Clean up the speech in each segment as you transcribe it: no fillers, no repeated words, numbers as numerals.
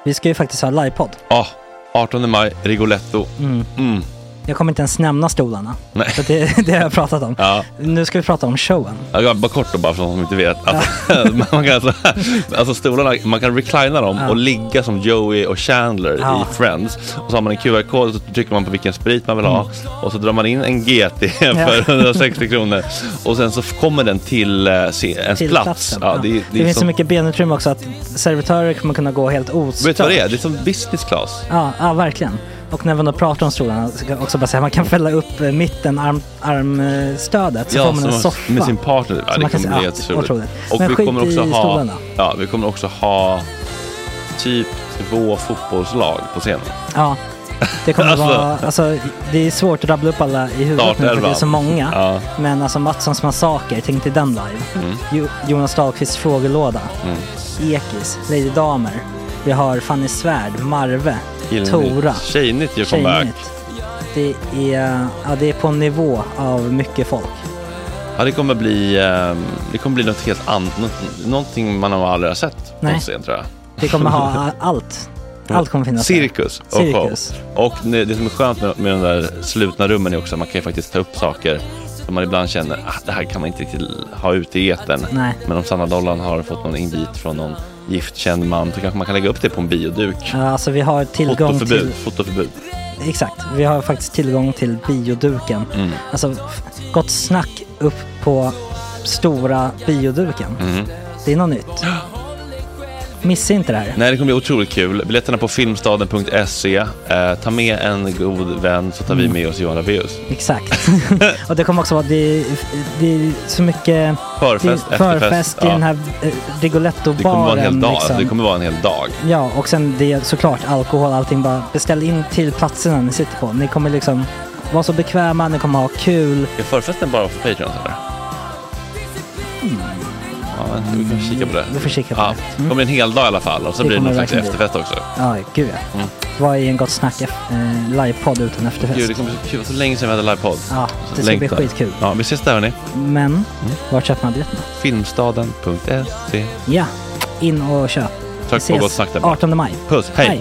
Vi ska ju faktiskt ha livepodd. Ja, 18 maj, Rigoletto. Jag kommer inte ens nämna stolarna. Nej. För det har jag pratat om. Ja. Nu ska vi prata om showen. Ja, bara kort då, bara för de som inte vet. Man kan alltså stolarna, man kan reclina dem och ligga som Joey och Chandler i Friends. Och så har man en QR-kod och så trycker man på vilken sprit man vill ha. Och så drar man in en GT för 160 kronor. Och sen så kommer den till ens plats. Ja, det finns så mycket benutrymme också att servitörer kommer kunna gå helt ostört. Vet du vad det är? Det är som business class. Ja, verkligen. Och när man då pratar om stolarna så kan jag också bara säga att man kan fälla upp mitten armstödet så får man en soffa med sin partner. Ja, det kommer bli helt otroligt. Och men vi kommer också stolarna. vi kommer också ha typ 2 fotbollslag på scenen. Ja. Det kommer vara, alltså det är svårt att rabbla upp alla i huvudet nu för det är så många. Ja. Men alltså Mattssons massaker, tänk till den live. Jonas Dahlqvists frågelåda. Ekis, Lady Damer. Vi har Fanny Svärd, Marve, Tora. Tjejnytt gör comeback. Det är på en nivå av mycket folk. Ja, det kommer bli något helt annat. Någonting man har aldrig sett på scen, tror jag. Vi kommer ha allt. Allt kommer finnas. Cirkus. Och det som är skönt med de där slutna rummen är också att man kan ju faktiskt ta upp saker som man ibland känner det här kan man inte riktigt ha ute i etern. Nej. Men om Sanna Dollan har fått någon invit från någon giftkänd man så kanske man kan lägga upp det på en bioduk. Ja, alltså vi har tillgång till fotoförbud. Exakt, vi har faktiskt tillgång till bioduken. Alltså gott snack upp på stora bioduken. Det är något nytt. Missa inte det här. Nej, det kommer bli otroligt kul. Biljetterna på filmstaden.se. Ta med en god vän så tar vi med oss Johan Rabaeus. Exakt. Och det kommer också vara det är så mycket förfest i den här Rigoletto-baren. Det kommer vara en hel dag. Liksom. Det kommer vara en hel dag. Ja, och sen det är såklart alkohol, allting. Bara beställ in till platserna ni sitter på. Ni kommer liksom vara så bekväma, ni kommer ha kul. Är förfesten bara för Patreon eller? Ja, vi kan kika på det. Vi får kika på det. Det kommer en hel dag i alla fall. Och så blir det någon slags efterfest också. Ja, gud ja. Vad är en gott snack livepodd utan efterfest? Gud, det kommer bli så länge sedan vi hade livepodd. Ja, det ska bli skitkul. Ja, vi ses där hörni. Men, var köper man biljetterna? Filmstaden.se. Ja, in och köp. Tack på gott snack där. 18 maj. Puss, hej.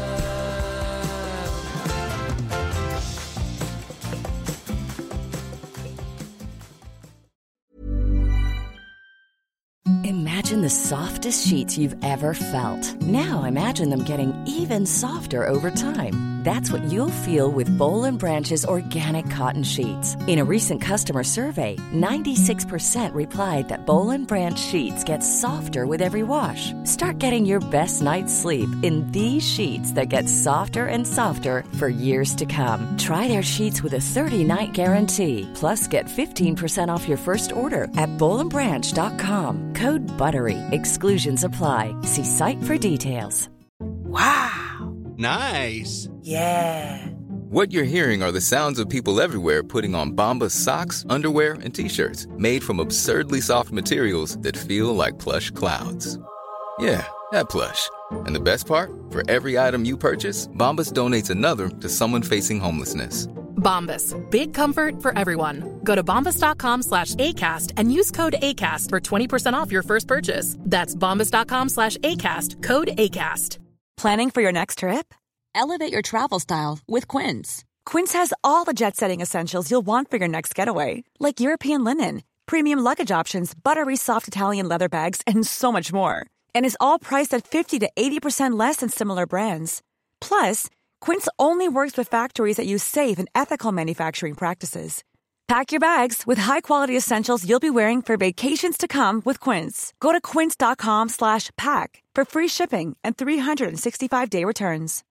Imagine the softest sheets you've ever felt. Now imagine them getting even softer over time. That's what you'll feel with Boll & Branch's organic cotton sheets. In a recent customer survey, 96% replied that Boll & Branch sheets get softer with every wash. Start getting your best night's sleep in these sheets that get softer and softer for years to come. Try their sheets with a 30-night guarantee. Plus, get 15% off your first order at bollandbranch.com. Code BUTTERY. Exclusions apply. See site for details. Wow. Nice. Yeah. What you're hearing are the sounds of people everywhere putting on Bombas socks, underwear, and T-shirts made from absurdly soft materials that feel like plush clouds. Yeah, that plush. And the best part? For every item you purchase, Bombas donates another to someone facing homelessness. Bombas. Big comfort for everyone. Go to bombas.com/ACAST and use code ACAST for 20% off your first purchase. That's bombas.com/ACAST. Code ACAST. Planning for your next trip? Elevate your travel style with Quince. Quince has all the jet-setting essentials you'll want for your next getaway, like European linen, premium luggage options, buttery soft Italian leather bags, and so much more. And is all priced at 50 to 80% less than similar brands. Plus, Quince only works with factories that use safe and ethical manufacturing practices. Pack your bags with high-quality essentials you'll be wearing for vacations to come with Quince. Go to quince.com/pack for free shipping and 365-day returns.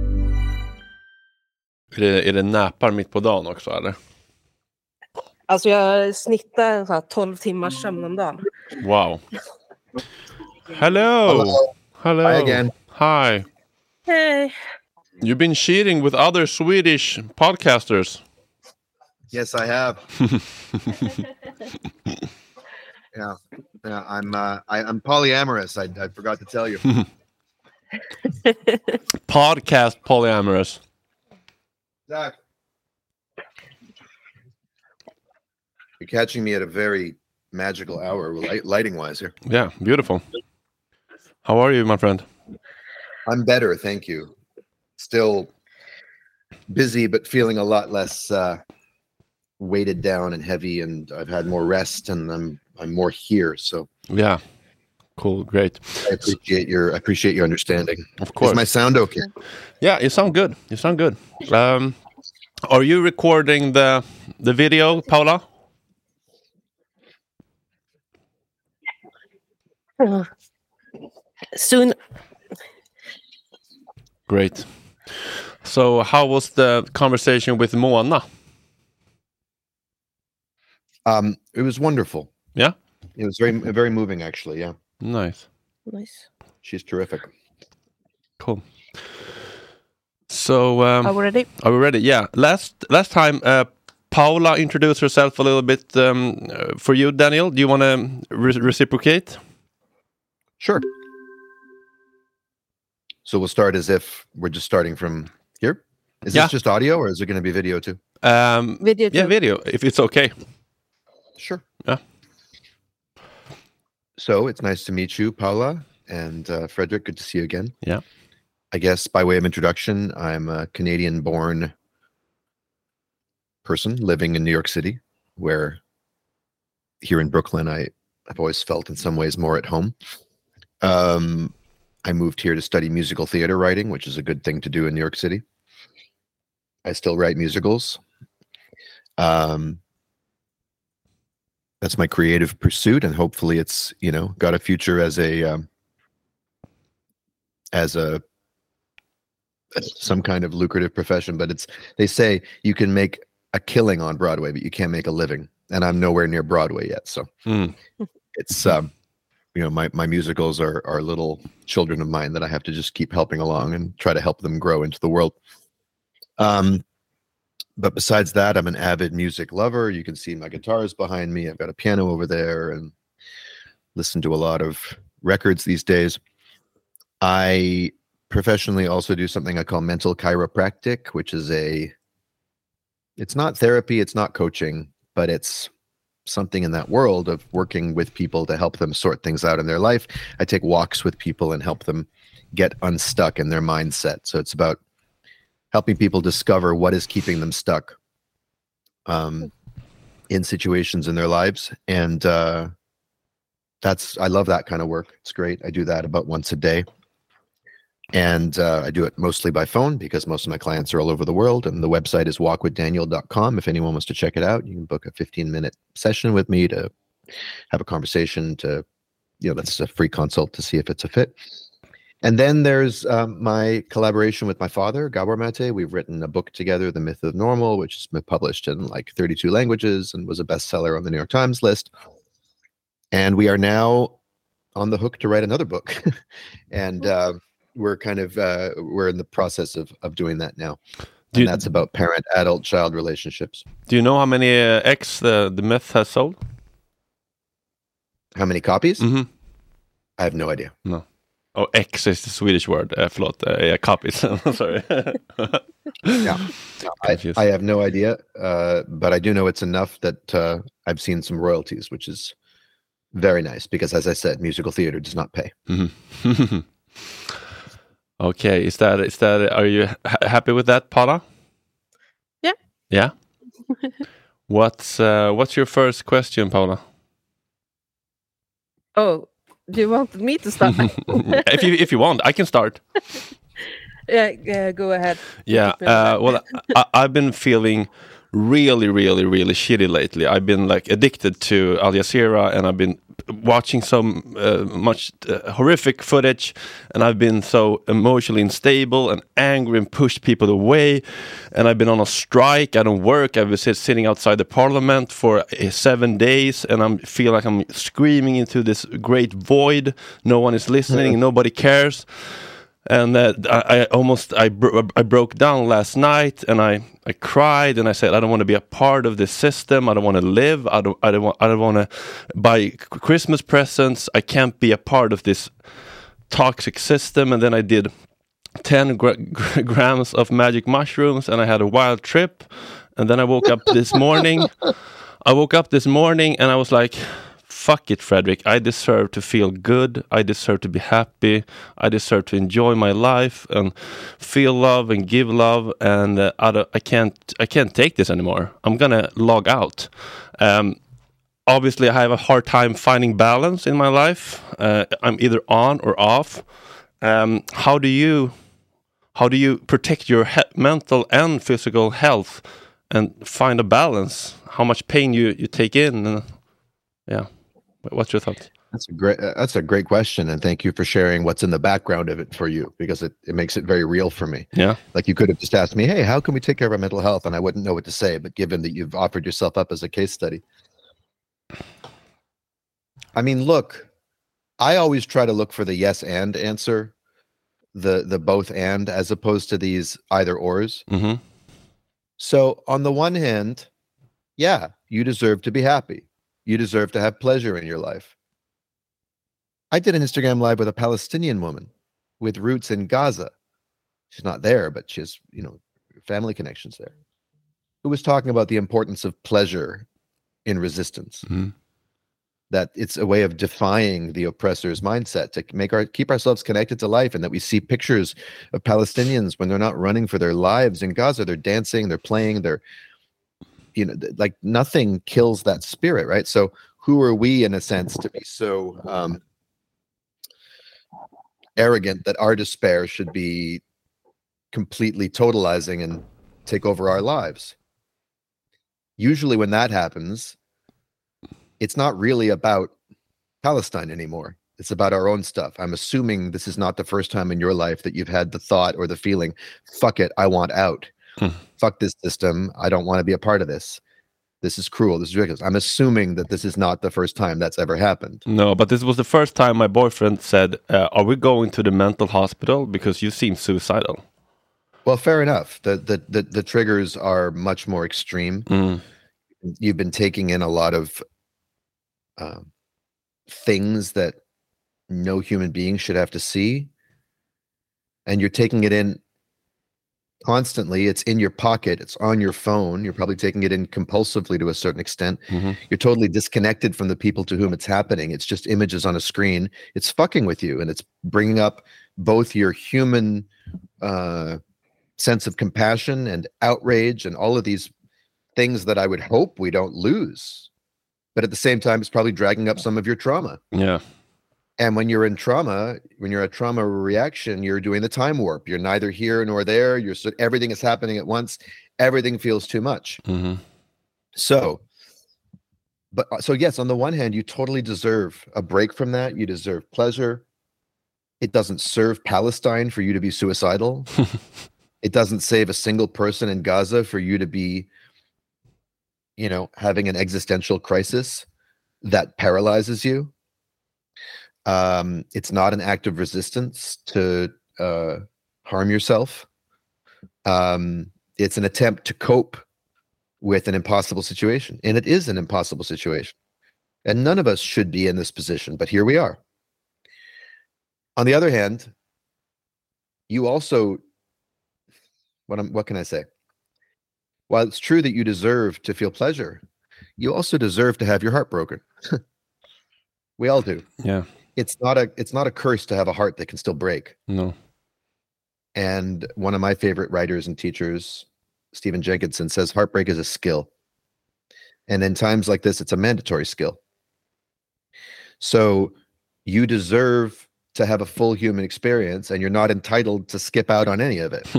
Är det näpar mitt på dagen också, eller? Alltså jag snittar så här 12 timmars sömn om dagen. Wow. Hello. Hello. Hi again. Hi. Hey. You've been cheating with other Swedish podcasters. Yes, I have. Yeah, I'm polyamorous. I forgot to tell you. Podcast polyamorous. Zach, you're catching me at a very magical hour, lighting-wise here. Yeah, beautiful. How are you, my friend? I'm better, thank you. Still busy, but feeling a lot less weighted down and heavy, and I've had more rest, and I'm more here. So yeah, cool, great. I appreciate your understanding. Of course. Is my sound okay? Yeah, you sound good. Are you recording the video, Paula? Soon. Great. So how was the conversation with Mona? It was wonderful. Yeah? It was very, very moving, actually. Yeah. Nice. She's terrific. Cool. So are we ready? Are we ready? Yeah. Last time, Paula introduced herself a little bit for you, Daniel. Do you want to reciprocate? Sure. So we'll start as if we're just starting from here. Is this just audio, or is there going to be video too? Video. Yeah, video, if it's okay. Sure. Yeah. So it's nice to meet you, Paula, and Frederick. Good to see you again. Yeah. I guess by way of introduction, I'm a Canadian-born person living in New York City, where here in Brooklyn, I've always felt in some ways more at home. I moved here to study musical theater writing, which is a good thing to do in New York City. I still write musicals. That's my creative pursuit, and hopefully it's, got a future as some kind of lucrative profession. But they say you can make a killing on Broadway, but you can't make a living. And I'm nowhere near Broadway yet. So it's, my musicals are little children of mine that I have to just keep helping along and try to help them grow into the world. But besides that, I'm an avid music lover. You can see my guitars behind me. I've got a piano over there and listen to a lot of records these days. I professionally also do something I call mental chiropractic, which is it's not therapy, it's not coaching, but it's something in that world of working with people to help them sort things out in their life. I take walks with people and help them get unstuck in their mindset. So it's about helping people discover what is keeping them stuck in situations in their lives. And I love that kind of work. It's great. I do that about once a day. And I do it mostly by phone because most of my clients are all over the world. And the website is walkwithdaniel.com. If anyone wants to check it out, you can book a 15-minute session with me to have a conversation that's a free consult to see if it's a fit. And then there's my collaboration with my father, Gabor Mate. We've written a book together, The Myth of Normal, which has been published in 32 languages and was a bestseller on the New York Times list. And we are now on the hook to write another book. And we're we're in the process of doing that now. And that's about parent-adult-child relationships. Do you know how many X the Myth has sold? How many copies? Mm-hmm. I have no idea. No. Oh, X is the Swedish word. Copies. Sorry. Yeah, I have no idea, but I do know it's enough that I've seen some royalties, which is very nice because, as I said, musical theater does not pay. Mm-hmm. Okay, is that? Are you happy with that, Paula? Yeah. Yeah. What's your first question, Paula? Oh. Do you want me to start? if you want, I can start. Yeah, go ahead. Yeah, well, I've been feeling really, really, really shitty lately. I've been addicted to Al Jazeera, and I've been watching so much horrific footage, and I've been so emotionally unstable and angry and pushed people away, and I've been on a strike. I don't work. I've been sitting outside the parliament for 7 days, and I feel like I'm screaming into this great void. No one is listening. Nobody cares. And I broke down last night, and I cried, and I said, I don't want to be a part of this system. I don't want to live. I don't want to buy Christmas presents. I can't be a part of this toxic system. And then I did 10 grams of magic mushrooms, and I had a wild trip. And then I woke up this morning. And I was like, fuck it, Fredrik, I deserve to feel good, I deserve to be happy, I deserve to enjoy my life and feel love and give love, and I can't take this anymore. I'm gonna log out. Obviously, I have a hard time finding balance in my life. I'm either on or off. How do you protect your mental and physical health and find a balance? How much pain you take in? What's your thoughts? That's a great question, and thank you for sharing what's in the background of it for you, because it makes it very real for me. Yeah, like you could have just asked me, hey, how can we take care of our mental health, and I wouldn't know what to say. But given that you've offered yourself up as a case study, I mean, look, I always try to look for the yes and answer, the both and, as opposed to these either ors. Mm-hmm. So on the one hand, yeah, you deserve to be happy. You deserve to have pleasure in your life. I did an Instagram live with a Palestinian woman with roots in Gaza. She's not there, but she has, family connections there, who was talking about the importance of pleasure in resistance. Mm-hmm. That it's a way of defying the oppressor's mindset, to keep ourselves connected to life, and that we see pictures of Palestinians when they're not running for their lives in Gaza. They're dancing, they're playing, they're, like nothing kills that spirit, right? So who are we, in a sense, to be so arrogant that our despair should be completely totalizing and take over our lives? Usually when that happens, it's not really about Palestine anymore. It's about our own stuff. I'm assuming this is not the first time in your life that you've had the thought or the feeling, fuck it, I want out. Fuck this system. I don't want to be a part of this. This is cruel. This is ridiculous. I'm assuming that this is not the first time that's ever happened. No, but this was the first time my boyfriend said, are we going to the mental hospital because you seem suicidal? Well, fair enough. The triggers are much more extreme. Mm. You've been taking in a lot of things that no human being should have to see, and you're taking it in constantly. It's in your pocket, it's on your phone, you're probably taking it in compulsively to a certain extent. Mm-hmm. You're totally disconnected from the people to whom it's happening. It's just images on a screen. It's fucking with you, and it's bringing up both your human sense of compassion and outrage and all of these things that I would hope we don't lose. But at the same time, it's probably dragging up some of your trauma. Yeah. And when you're in trauma, when you're a trauma reaction, you're doing the time warp. You're neither here nor there. Everything is happening at once. Everything feels too much. Mm-hmm. So yes, on the one hand, you totally deserve a break from that. You deserve pleasure. It doesn't serve Palestine for you to be suicidal. It doesn't save a single person in Gaza for you to be, having an existential crisis that paralyzes you. It's not an act of resistance to harm yourself. It's an attempt to cope with an impossible situation. And it is an impossible situation. And none of us should be in this position, but here we are. On the other hand, you also, what can I say? While it's true that you deserve to feel pleasure, you also deserve to have your heart broken. We all do. Yeah. It's not a curse to have a heart that can still break. No. And one of my favorite writers and teachers, Stephen Jenkinson, says heartbreak is a skill. And in times like this, it's a mandatory skill. So you deserve to have a full human experience, and you're not entitled to skip out on any of it.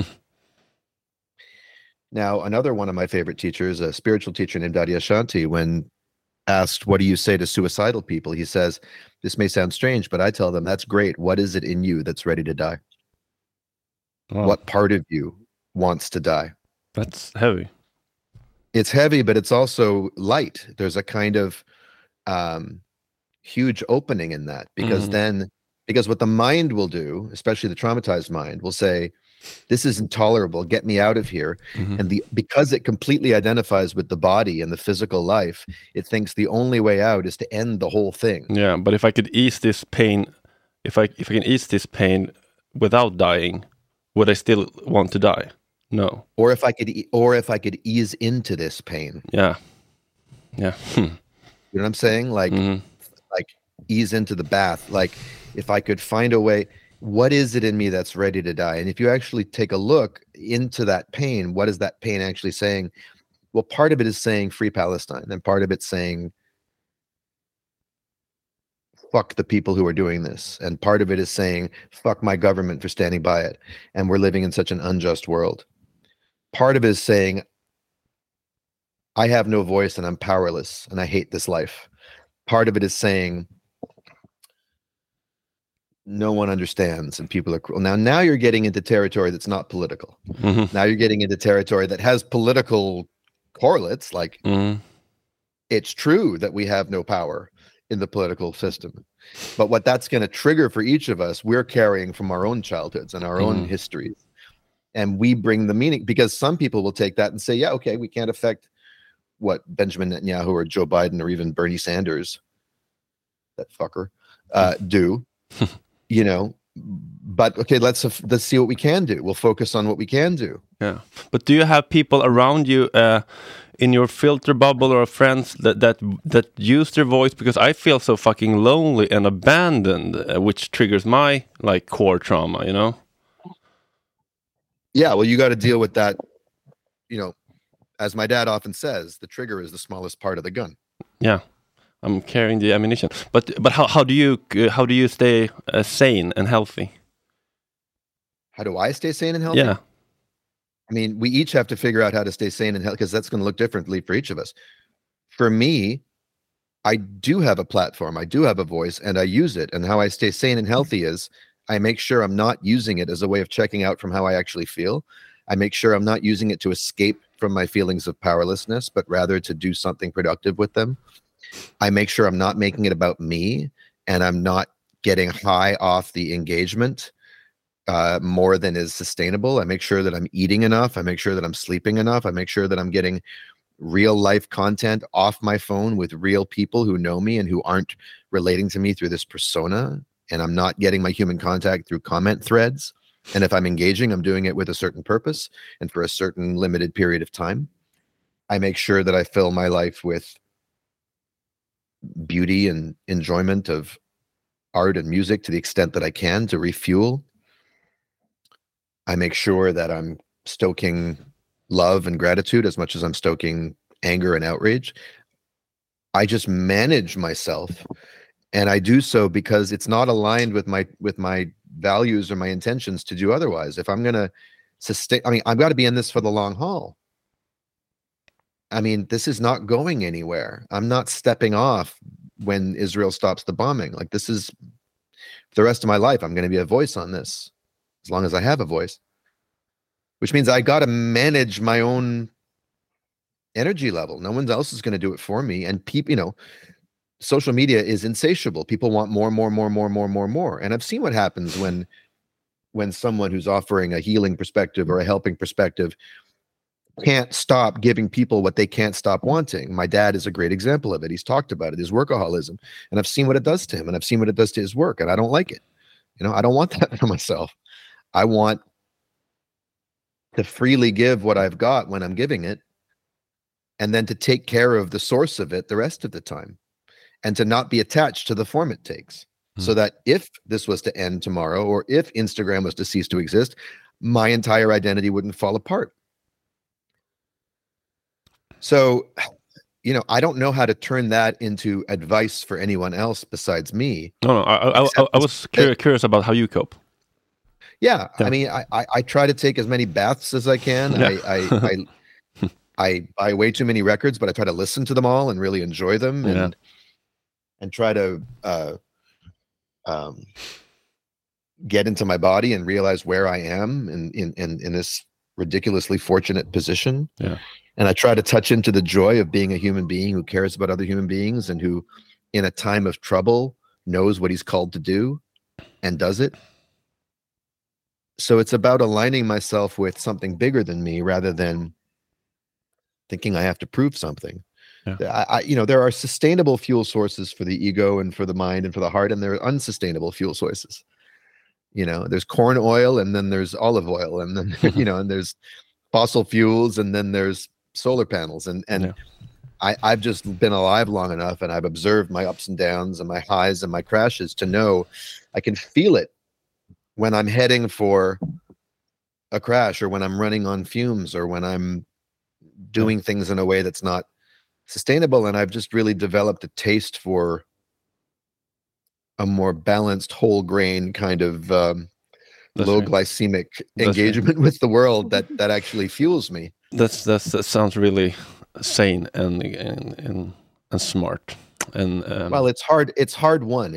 Now, another one of my favorite teachers, a spiritual teacher named Adyashanti, when asked, what do you say to suicidal people? He says, this may sound strange, but I tell them, that's great. What is it in you that's ready to die? Wow. What part of you wants to die? That's heavy. It's heavy, but it's also light. There's a kind of huge opening in that, because because what the mind will do, especially the traumatized mind, will say, this is intolerable, get me out of here. And because it completely identifies with the body and the physical life, it thinks the only way out is to end the whole thing. Yeah, but if I could ease this pain, if I can ease this pain without dying, would I still want to die? No. Or if I could ease into this pain. Yeah. You know what I'm saying? Like ease into the bath, like if I could find a way, what is it in me that's ready to die? And if you actually take a look into that pain, what is that pain actually saying? Well, part of it is saying free Palestine, and part of it's saying fuck the people who are doing this, and part of it is saying fuck my government for standing by it, and we're living in such an unjust world. Part of it is saying I have no voice and I'm powerless and I hate this life. Part of it is saying no one understands and people are cruel. Now you're getting into territory that's not political. Mm-hmm. Now you're getting into territory that has political correlates, like it's true that we have no power in the political system. But what that's going to trigger for each of us, we're carrying from our own childhoods and our own histories. And we bring the meaning, because some people will take that and say, yeah, okay, we can't affect what Benjamin Netanyahu or Joe Biden or even Bernie Sanders, that fucker, do, you know, but okay, let's see what we can do. We'll focus on what we can do. Yeah. But do you have people around you in your filter bubble or friends that use their voice? Because I feel so fucking lonely and abandoned, which triggers my like core trauma, you know? Yeah, well, you got to deal with that, you know, as my dad often says, the trigger is the smallest part of the gun. Yeah, I'm carrying the ammunition. But how do you stay sane and healthy? How do I stay sane and healthy? Yeah. I mean, we each have to figure out how to stay sane and healthy, because that's going to look differently for each of us. For me, I do have a platform, I do have a voice, and I use it. And how I stay sane and healthy is I make sure I'm not using it as a way of checking out from how I actually feel. I make sure I'm not using it to escape from my feelings of powerlessness, but rather to do something productive with them. I make sure I'm not making it about me, and I'm not getting high off the engagement more than is sustainable. I make sure that I'm eating enough. I make sure that I'm sleeping enough. I make sure that I'm getting real life content off my phone with real people who know me and who aren't relating to me through this persona. And I'm not getting my human contact through comment threads. And if I'm engaging, I'm doing it with a certain purpose and for a certain limited period of time. I make sure that I fill my life with beauty and enjoyment of art and music to the extent that I can to refuel. I make sure that I'm stoking love and gratitude as much as I'm stoking anger and outrage. I just manage myself. And I do so because it's not aligned with my values or my intentions to do otherwise. If I'm going to sustain, I mean, I've got to be in this for the long haul. I mean, this is not going anywhere. I'm not stepping off when Israel stops the bombing. Like, this is for the rest of my life. I'm going to be a voice on this as long as I have a voice, which means I got to manage my own energy level. No one else is going to do it for me. And people, you know, social media is insatiable. People want more. And I've seen what happens when someone who's offering a healing perspective or a helping perspective can't stop giving people what they can't stop wanting. My dad is a great example of it. He's talked about it, his workaholism. And I've seen what it does to him, and I've seen what it does to his work, and I don't like it. You know, I don't want that for myself. I want to freely give what I've got when I'm giving it, and then to take care of the source of it the rest of the time. And to not be attached to the form it takes. So that if this was to end tomorrow, or if Instagram was to cease to exist, my entire identity wouldn't fall apart. So, you know, I don't know how to turn that into advice for anyone else besides me. No, I was curious about how you cope. Yeah. I mean, I try to take as many baths as I can. Yeah. I buy way too many records, but I try to listen to them all and really enjoy them. And try to get into my body and realize where I am in this ridiculously fortunate position. Yeah. And I try to touch into the joy of being a human being who cares about other human beings and who, in a time of trouble, knows what he's called to do and does it. So it's about aligning myself with something bigger than me rather than thinking I have to prove something. Yeah. You know, there are sustainable fuel sources for the ego and for the mind and for the heart, and there are unsustainable fuel sources. You know, there's corn oil, and then there's olive oil, and then you know, and there's fossil fuels, and then there's solar panels, and I've just been alive long enough, and I've observed my ups and downs and my highs and my crashes to know I can feel it when I'm heading for a crash, or when I'm running on fumes, or when I'm doing things in a way that's not sustainable. And I've just really developed a taste for a more balanced, whole grain kind of low glycemic engagement with the world that actually fuels me. That sounds really sane and smart. And well, it's hard. It's hard won.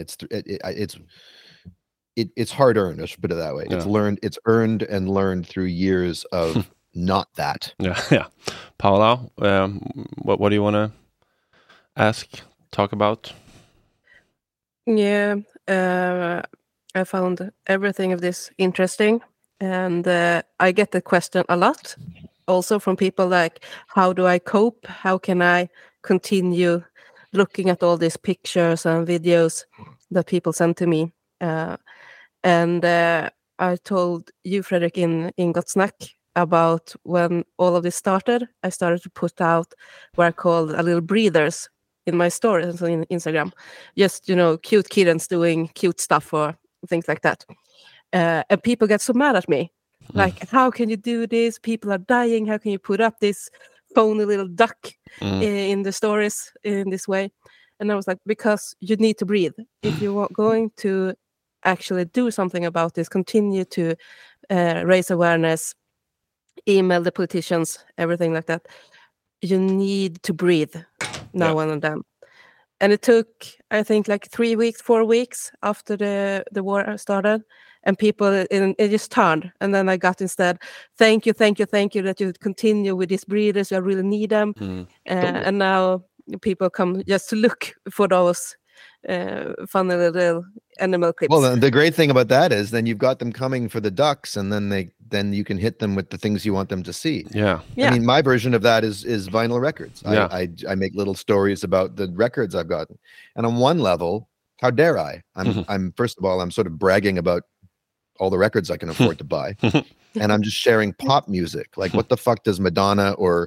It's hard earned. I should put it that way. Yeah. It's earned and learned through years of not that. Yeah. Paula, what do you want to talk about? Yeah, I found everything of this interesting, and I get the question a lot, also from people like, how do I cope? How can I continue looking at all these pictures and videos that people send to me? And I told you, Fredrik, in Gott Snack about when all of this started. I started to put out what I called a little breathers in my stories on Instagram. Just, cute kittens doing cute stuff or things like that. And people get so mad at me. Like, how can you do this? People are dying. How can you put up this phony little duck in the stories in this way? And I was like, because you need to breathe. If you're going to actually do something about this, continue to raise awareness, email the politicians, everything like that, you need to breathe now and then. And it took, I think, like 3 weeks, 4 weeks after the war started, and people, it just turned. And then I got instead, thank you that you continue with these breeders. I really need them. And now people come just to look for those funny little animal clips. Well, the great thing about that is then you've got them coming for the ducks, and then you can hit them with the things you want them to see. Yeah. I mean, my version of that is vinyl records. Yeah. I make little stories about the records I've gotten, and on one level, how dare I? I'm first of all, I'm sort of bragging about all the records I can afford to buy, and I'm just sharing pop music. Like, what the fuck does Madonna or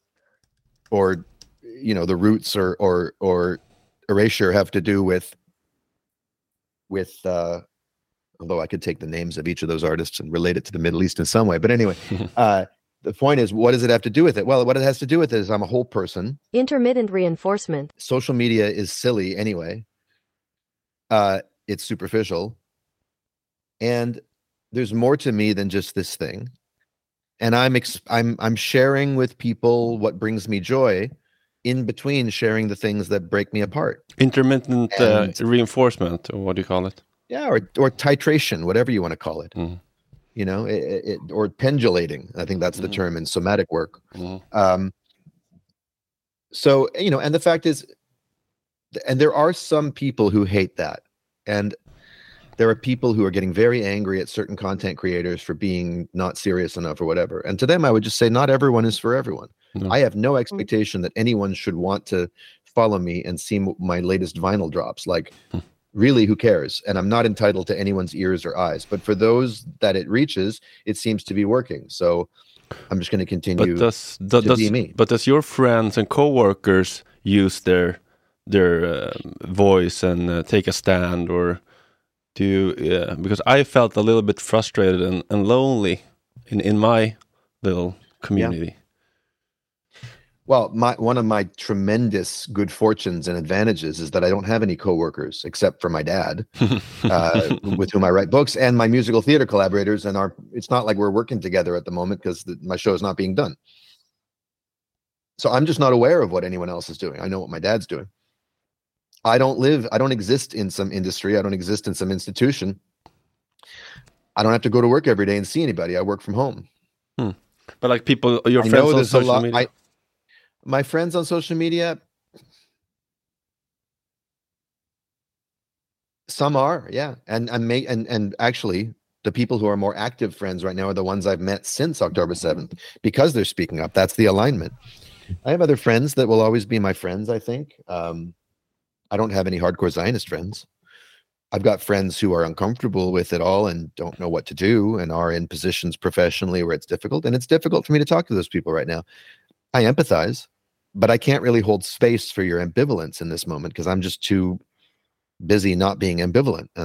the Roots or Erasure have to do with although I could take the names of each of those artists and relate it to the Middle East in some way. But anyway, the point is, what does it have to do with it? Well, what it has to do with it is I'm a whole person. Intermittent reinforcement. Social media is silly anyway. It's superficial. And there's more to me than just this thing. And I'm sharing with people what brings me joy, in between sharing the things that break me apart. Intermittent reinforcement, or what do you call it? Yeah, or titration, whatever you want to call it. Or pendulating. I think that's the term in somatic work. So, and the fact is, and there are some people who hate that. And there are people who are getting very angry at certain content creators for being not serious enough or whatever. And to them, I would just say, not everyone is for everyone. No. I have no expectation that anyone should want to follow me and see my latest vinyl drops. Like, really, who cares? And I'm not entitled to anyone's ears or eyes. But for those that it reaches, it seems to be working. So I'm just going to continue to be me. But does your friends and coworkers use their voice and take a stand, or do you? Because I felt a little bit frustrated and lonely in my little community. Yeah. Well, one of my tremendous good fortunes and advantages is that I don't have any coworkers except for my dad, with whom I write books, and my musical theater collaborators. And it's not like we're working together at the moment because my show is not being done. So I'm just not aware of what anyone else is doing. I know what my dad's doing. I don't exist in some industry. I don't exist in some institution. I don't have to go to work every day and see anybody. I work from home. But like people, your friends on social media? My friends on social media, some are, yeah. And actually, the people who are more active friends right now are the ones I've met since October 7th, because they're speaking up. That's the alignment. I have other friends that will always be my friends, I think. I don't have any hardcore Zionist friends. I've got friends who are uncomfortable with it all and don't know what to do and are in positions professionally where it's difficult. And it's difficult for me to talk to those people right now. I empathize. but I can't really hold space for your ambivalence in this moment because I'm just too busy not being ambivalent. And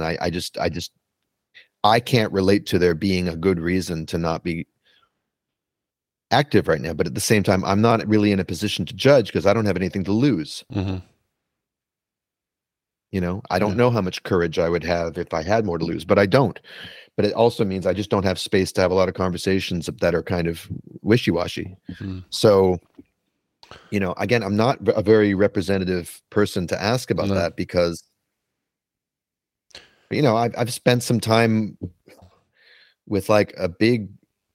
I can't relate to there being a good reason to not be active right now. But at the same time, I'm not really in a position to judge because I don't have anything to lose. Mm-hmm. You know, I don't know how much courage I would have if I had more to lose, but I don't. But it also means I just don't have space to have a lot of conversations that are kind of wishy-washy. Mm-hmm. So, you know, again, I'm not a very representative person to ask about that because, you know, I've spent some time with like a big,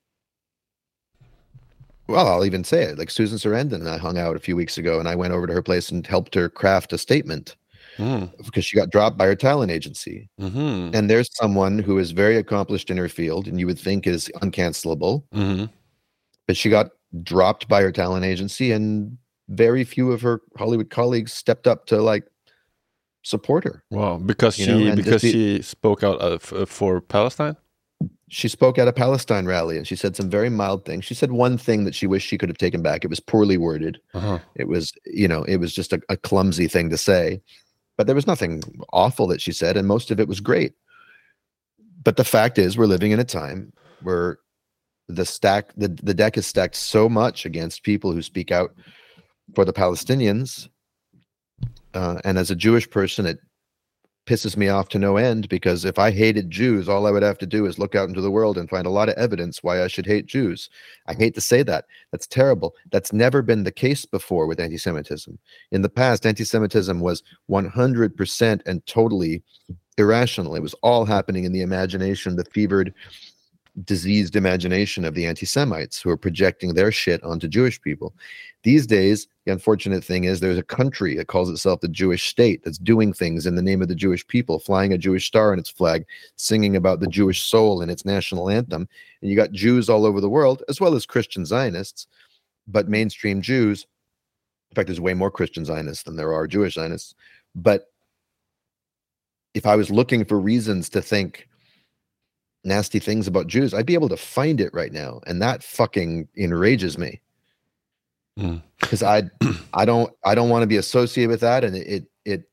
well, I'll even say it, like Susan Sarandon and I hung out a few weeks ago, and I went over to her place and helped her craft a statement. Because she got dropped by her talent agency. Mm-hmm. And there's someone who is very accomplished in her field and you would think is uncancelable. Mm-hmm. But she got dropped by her talent agency, and very few of her Hollywood colleagues stepped up to like support her. Wow, because she spoke out for Palestine? She spoke at a Palestine rally and she said some very mild things. She said one thing that she wished she could have taken back. It was poorly worded. It was, you know, it was just a clumsy thing to say. But there was nothing awful that she said, and most of it was great. But the fact is, we're living in a time where the deck is stacked so much against people who speak out for the Palestinians. And as a Jewish person, it pisses me off to no end, because if I hated Jews, all I would have to do is look out into the world and find a lot of evidence why I should hate Jews. I hate to say that. That's terrible. That's never been the case before with anti-Semitism. In the past, anti-Semitism was 100% and totally irrational. It was all happening in the imagination, the fevered, diseased imagination of the anti-Semites who are projecting their shit onto Jewish people. These days, the unfortunate thing is there's a country that calls itself the Jewish state that's doing things in the name of the Jewish people, flying a Jewish star in its flag, singing about the Jewish soul in its national anthem. And you got Jews all over the world, as well as Christian Zionists, but mainstream Jews. In fact, there's way more Christian Zionists than there are Jewish Zionists. But if I was looking for reasons to think nasty things about Jews, I'd be able to find it right now. And that fucking enrages me. Because I don't want to be associated with that, and it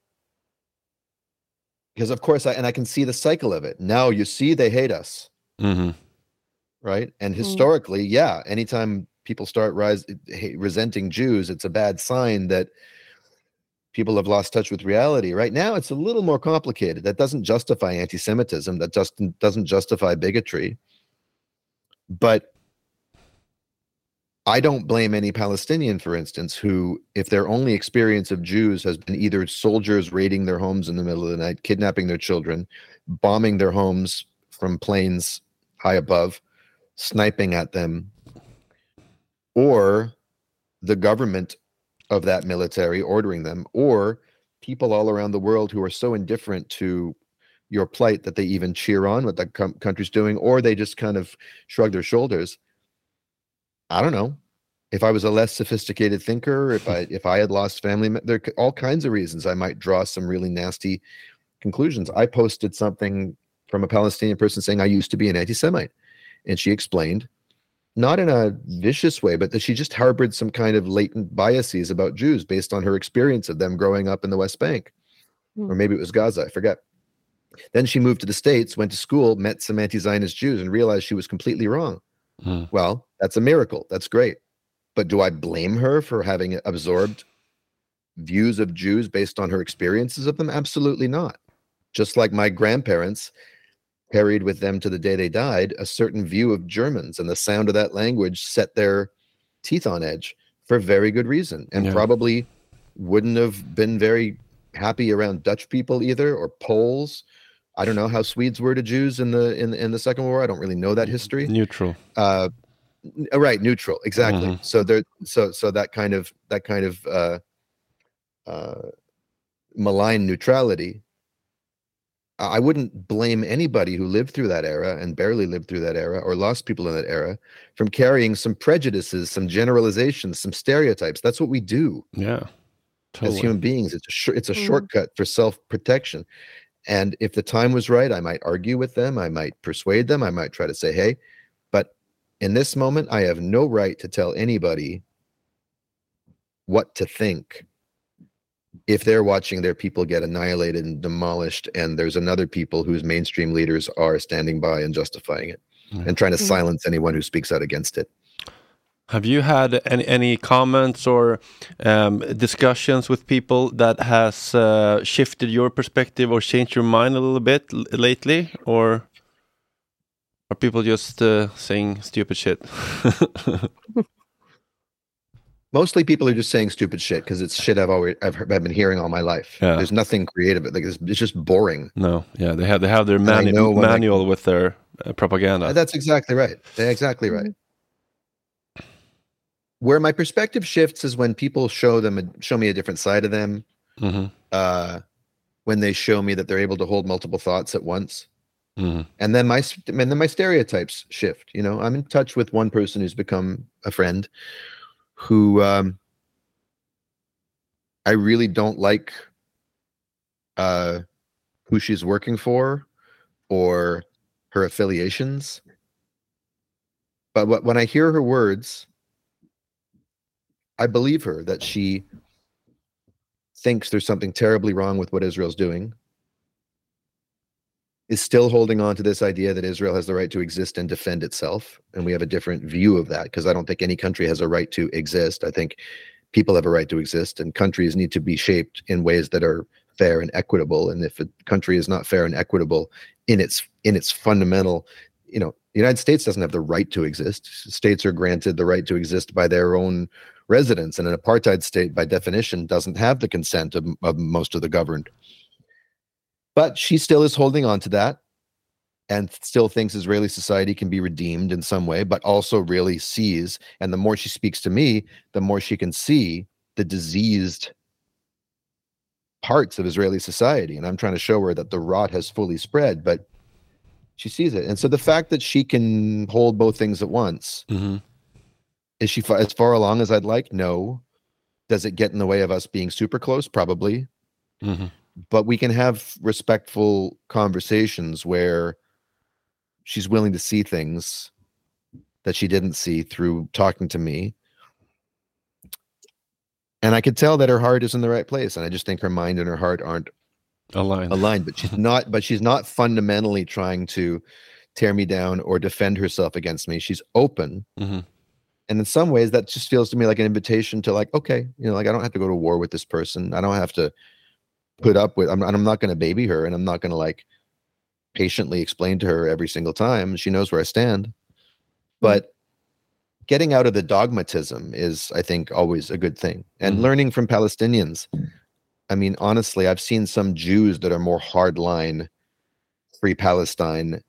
because of course I can see the cycle of it. Now you see they hate us, right? And historically, yeah, anytime people start resenting Jews, it's a bad sign that people have lost touch with reality. Right now, it's a little more complicated. That doesn't justify anti-Semitism. That just doesn't justify bigotry. But I don't blame any Palestinian, for instance, who, if their only experience of Jews has been either soldiers raiding their homes in the middle of the night, kidnapping their children, bombing their homes from planes high above, sniping at them, or the government of that military ordering them, or people all around the world who are so indifferent to your plight that they even cheer on what the country's doing, or they just kind of shrug their shoulders. I don't know. If I was a less sophisticated thinker, if I had lost family, there are all kinds of reasons I might draw some really nasty conclusions. I posted something from a Palestinian person saying I used to be an anti-Semite, and she explained, not in a vicious way, but that she just harbored some kind of latent biases about Jews based on her experience of them growing up in the West Bank, or maybe it was Gaza, I forget. Then she moved to the States, went to school, met some anti-Zionist Jews, and realized she was completely wrong. Well, that's a miracle. That's great. But do I blame her for having absorbed views of Jews based on her experiences of them? Absolutely not. Just like my grandparents carried with them to the day they died a certain view of Germans, and the sound of that language set their teeth on edge for very good reason, and probably wouldn't have been very happy around Dutch people either, or Poles. I don't know how Swedes were to Jews in the Second World War. I don't really know that history. Neutral. Right, neutral, exactly. So that kind of malign neutrality. I wouldn't blame anybody who lived through that era and barely lived through that era, or lost people in that era, from carrying some prejudices, some generalizations, some stereotypes. That's what we do. Yeah, totally. As human beings, it's a shortcut for self-protection. And if the time was right, I might argue with them. I might persuade them. I might try to say, hey, but in this moment, I have no right to tell anybody what to think if they're watching their people get annihilated and demolished, and there's another people whose mainstream leaders are standing by and justifying it and trying to silence anyone who speaks out against it. Have you had any comments or discussions with people that has shifted your perspective or changed your mind a little bit lately? Or are people just saying stupid shit? Mostly people are just saying stupid shit because it's shit I've been hearing all my life. Yeah. There's nothing creative. Like it's just boring. No, yeah, they have their manual with their propaganda. That's exactly right. They're exactly right. Where my perspective shifts is when people show me a different side of them. Mm-hmm. When they show me that they're able to hold multiple thoughts at once. Mm-hmm. And then my stereotypes shift. You know, I'm in touch with one person who's become a friend who I really don't like who she's working for or her affiliations. But when I hear her words, I believe her that she thinks there's something terribly wrong with what Israel's doing, is still holding on to this idea that Israel has the right to exist and defend itself. And we have a different view of that, because I don't think any country has a right to exist. I think people have a right to exist, and countries need to be shaped in ways that are fair and equitable. And if a country is not fair and equitable in its fundamental, you know, the United States doesn't have the right to exist. States are granted the right to exist by their own residents, and an apartheid state, by definition, doesn't have the consent of most of the governed. But she still is holding on to that and still thinks Israeli society can be redeemed in some way, but also really sees, and the more she speaks to me, the more she can see the diseased parts of Israeli society. And I'm trying to show her that the rot has fully spread, but she sees it. And so the fact that she can hold both things at once, mm-hmm. Is she as far along as I'd like? No. Does it get in the way of us being super close? Probably. Mm-hmm. But we can have respectful conversations where she's willing to see things that she didn't see through talking to me. And I could tell that her heart is in the right place. And I just think her mind and her heart aren't aligned. But she's not fundamentally trying to tear me down or defend herself against me. She's open. Mm-hmm. And in some ways, that just feels to me like an invitation to, like, okay, you know, like, I don't have to go to war with this person. I don't have to put up with, I'm not going to baby her, and I'm not going to, like, patiently explain to her every single time. She knows where I stand. But getting out of the dogmatism is, I think, always a good thing. And learning from Palestinians. I mean, honestly, I've seen some Jews that are more hardline, Free Palestine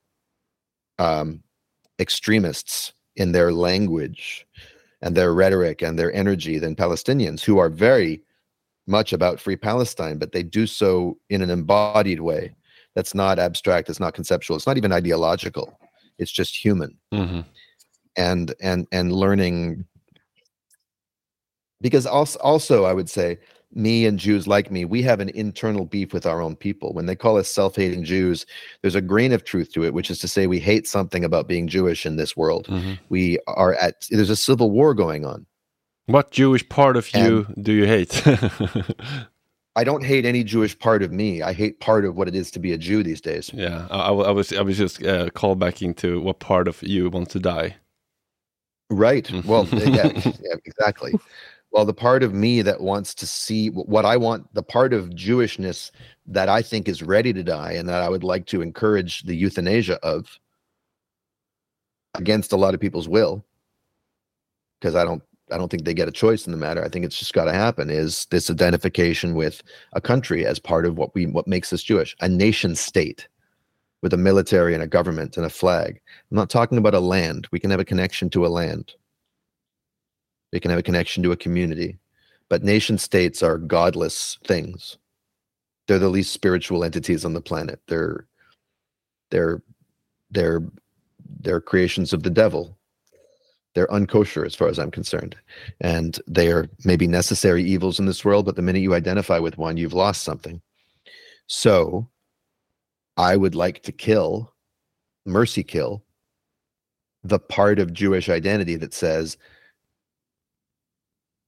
extremists in their language and their rhetoric and their energy than Palestinians, who are very much about Free Palestine, but they do so in an embodied way. That's not abstract. It's not conceptual. It's not even ideological. It's just human. Mm-hmm. And learning, because also I would say, me and Jews like me, we have an internal beef with our own people. When they call us self-hating Jews, there's a grain of truth to it, which is to say we hate something about being Jewish in this world. Mm-hmm. There's a civil war going on. What Jewish part of you do you hate? I don't hate any Jewish part of me. I hate part of what it is to be a Jew these days. Yeah, I was just call back into what part of you wants to die. Right. Well, yeah, exactly. Well, the part of me that wants to see what I want, the part of Jewishness that I think is ready to die, and that I would like to encourage the euthanasia of, against a lot of people's will, because I don't think they get a choice in the matter. I think it's just got to happen, is this identification with a country as part of what makes us Jewish, a nation state with a military and a government and a flag. I'm not talking about a land. We can have a connection to a land. We can have a connection to a community, but nation states are godless things. They're the least spiritual entities on the planet. They're creations of the devil. They're unkosher as far as I'm concerned. And they are maybe necessary evils in this world, but the minute you identify with one, you've lost something. So I would like to mercy kill the part of Jewish identity that says,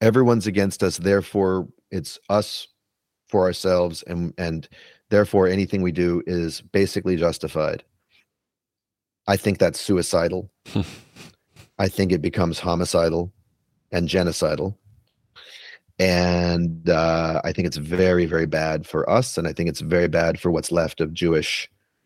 everyone's against us, therefore it's us for ourselves, and therefore anything we do is basically justified. I think that's suicidal. I think it becomes homicidal and genocidal. And I think it's very, very bad for us. And I think it's very bad for what's left of Jewish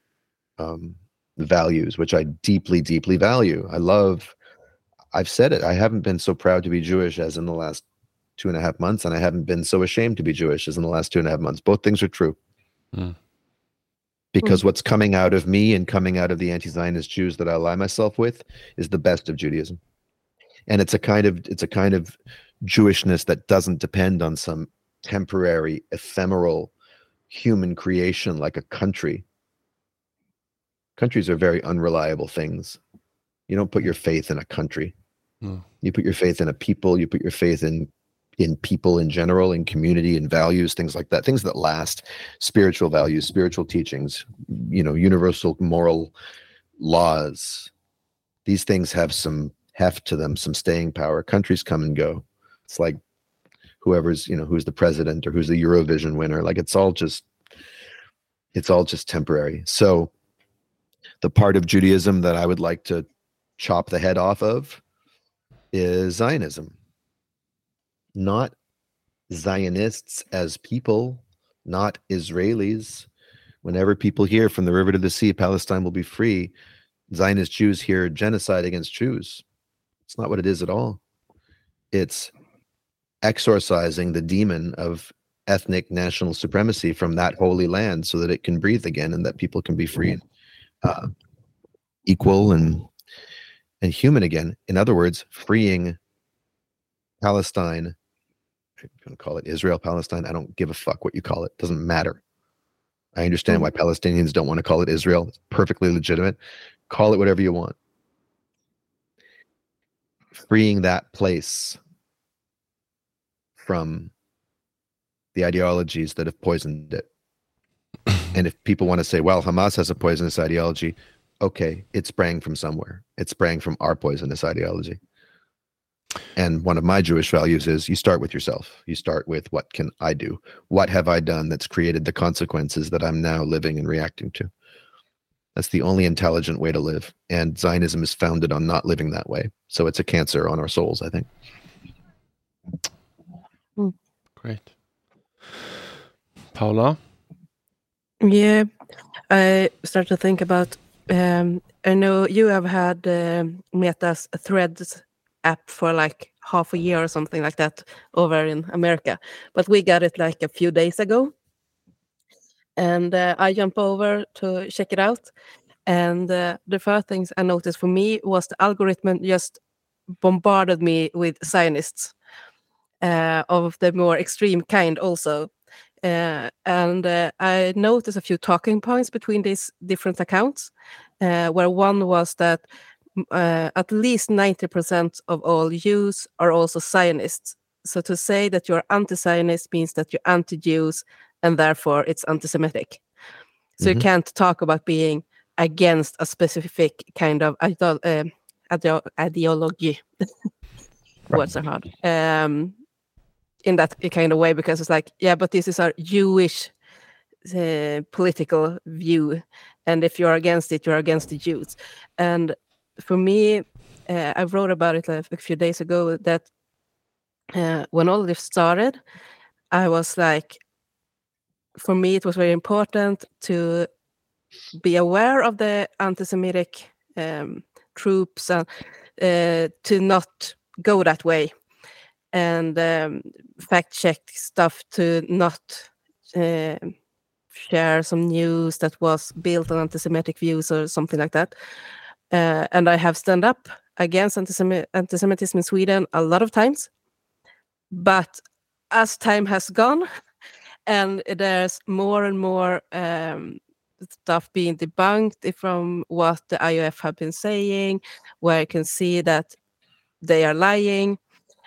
values, which I deeply, deeply value. I've said it. I haven't been so proud to be Jewish as in the last 2.5 months. And I haven't been so ashamed to be Jewish as in the last 2.5 months. Both things are true. Because what's coming out of me and coming out of the anti-Zionist Jews that I ally myself with is the best of Judaism. And it's a kind of Jewishness that doesn't depend on some temporary, ephemeral human creation like a country. Countries are very unreliable things. You don't put your faith in a country. You put your faith in a people. You put your faith in people in general, in community, in values, things like that, things that last, spiritual values, spiritual teachings, universal moral laws. These things have some heft to them, some staying power. Countries come and go. It's like whoever's, who's the president or who's the Eurovision winner. Like it's all just temporary. So the part of Judaism that I would like to chop the head off of is Zionism. Not Zionists as people, not Israelis. Whenever people hear from the river to the sea, Palestine will be free, Zionist Jews hear genocide against Jews. It's not what it is at all. It's exorcising the demon of ethnic national supremacy from that holy land so that it can breathe again and that people can be free and equal and human again. In other words, freeing Palestine. If you want to call it Israel, Palestine, I don't give a fuck what you call it. It doesn't matter. I understand why Palestinians don't want to call it Israel. It's perfectly legitimate. Call it whatever you want. Freeing that place from the ideologies that have poisoned it. And if people want to say, well, Hamas has a poisonous ideology, okay, it sprang from somewhere. It sprang from our poisonous ideology. And one of my Jewish values is you start with yourself. You start with, what can I do? What have I done that's created the consequences that I'm now living and reacting to? That's the only intelligent way to live. And Zionism is founded on not living that way. So it's a cancer on our souls, I think. Great. Paula? Yeah, I start to think about, I know you have had Meta's Threads app for like half a year or something like that over in America, but we got it like a few days ago, and I jumped over to check it out, and the first things I noticed for me was the algorithm just bombarded me with Zionists of the more extreme kind also, and I noticed a few talking points between these different accounts, where one was that at least 90% of all Jews are also Zionists. So to say that you're anti-Zionist means that you're anti-Jews, and therefore it's anti-Semitic. So you can't talk about being against a specific kind of ideology. Words are hard. In that kind of way, because it's like, yeah, but this is our Jewish political view, and if you're against it, you're against the Jews. And for me, I wrote about it a few days ago that when all this started, I was like, for me, it was very important to be aware of the anti-Semitic troops and to not go that way, and fact check stuff, to not share some news that was built on anti-Semitic views or something like that. And I have stand up against anti-Semitism in Sweden a lot of times. But as time has gone, and there's more and more stuff being debunked from what the IOF have been saying, where I can see that they are lying,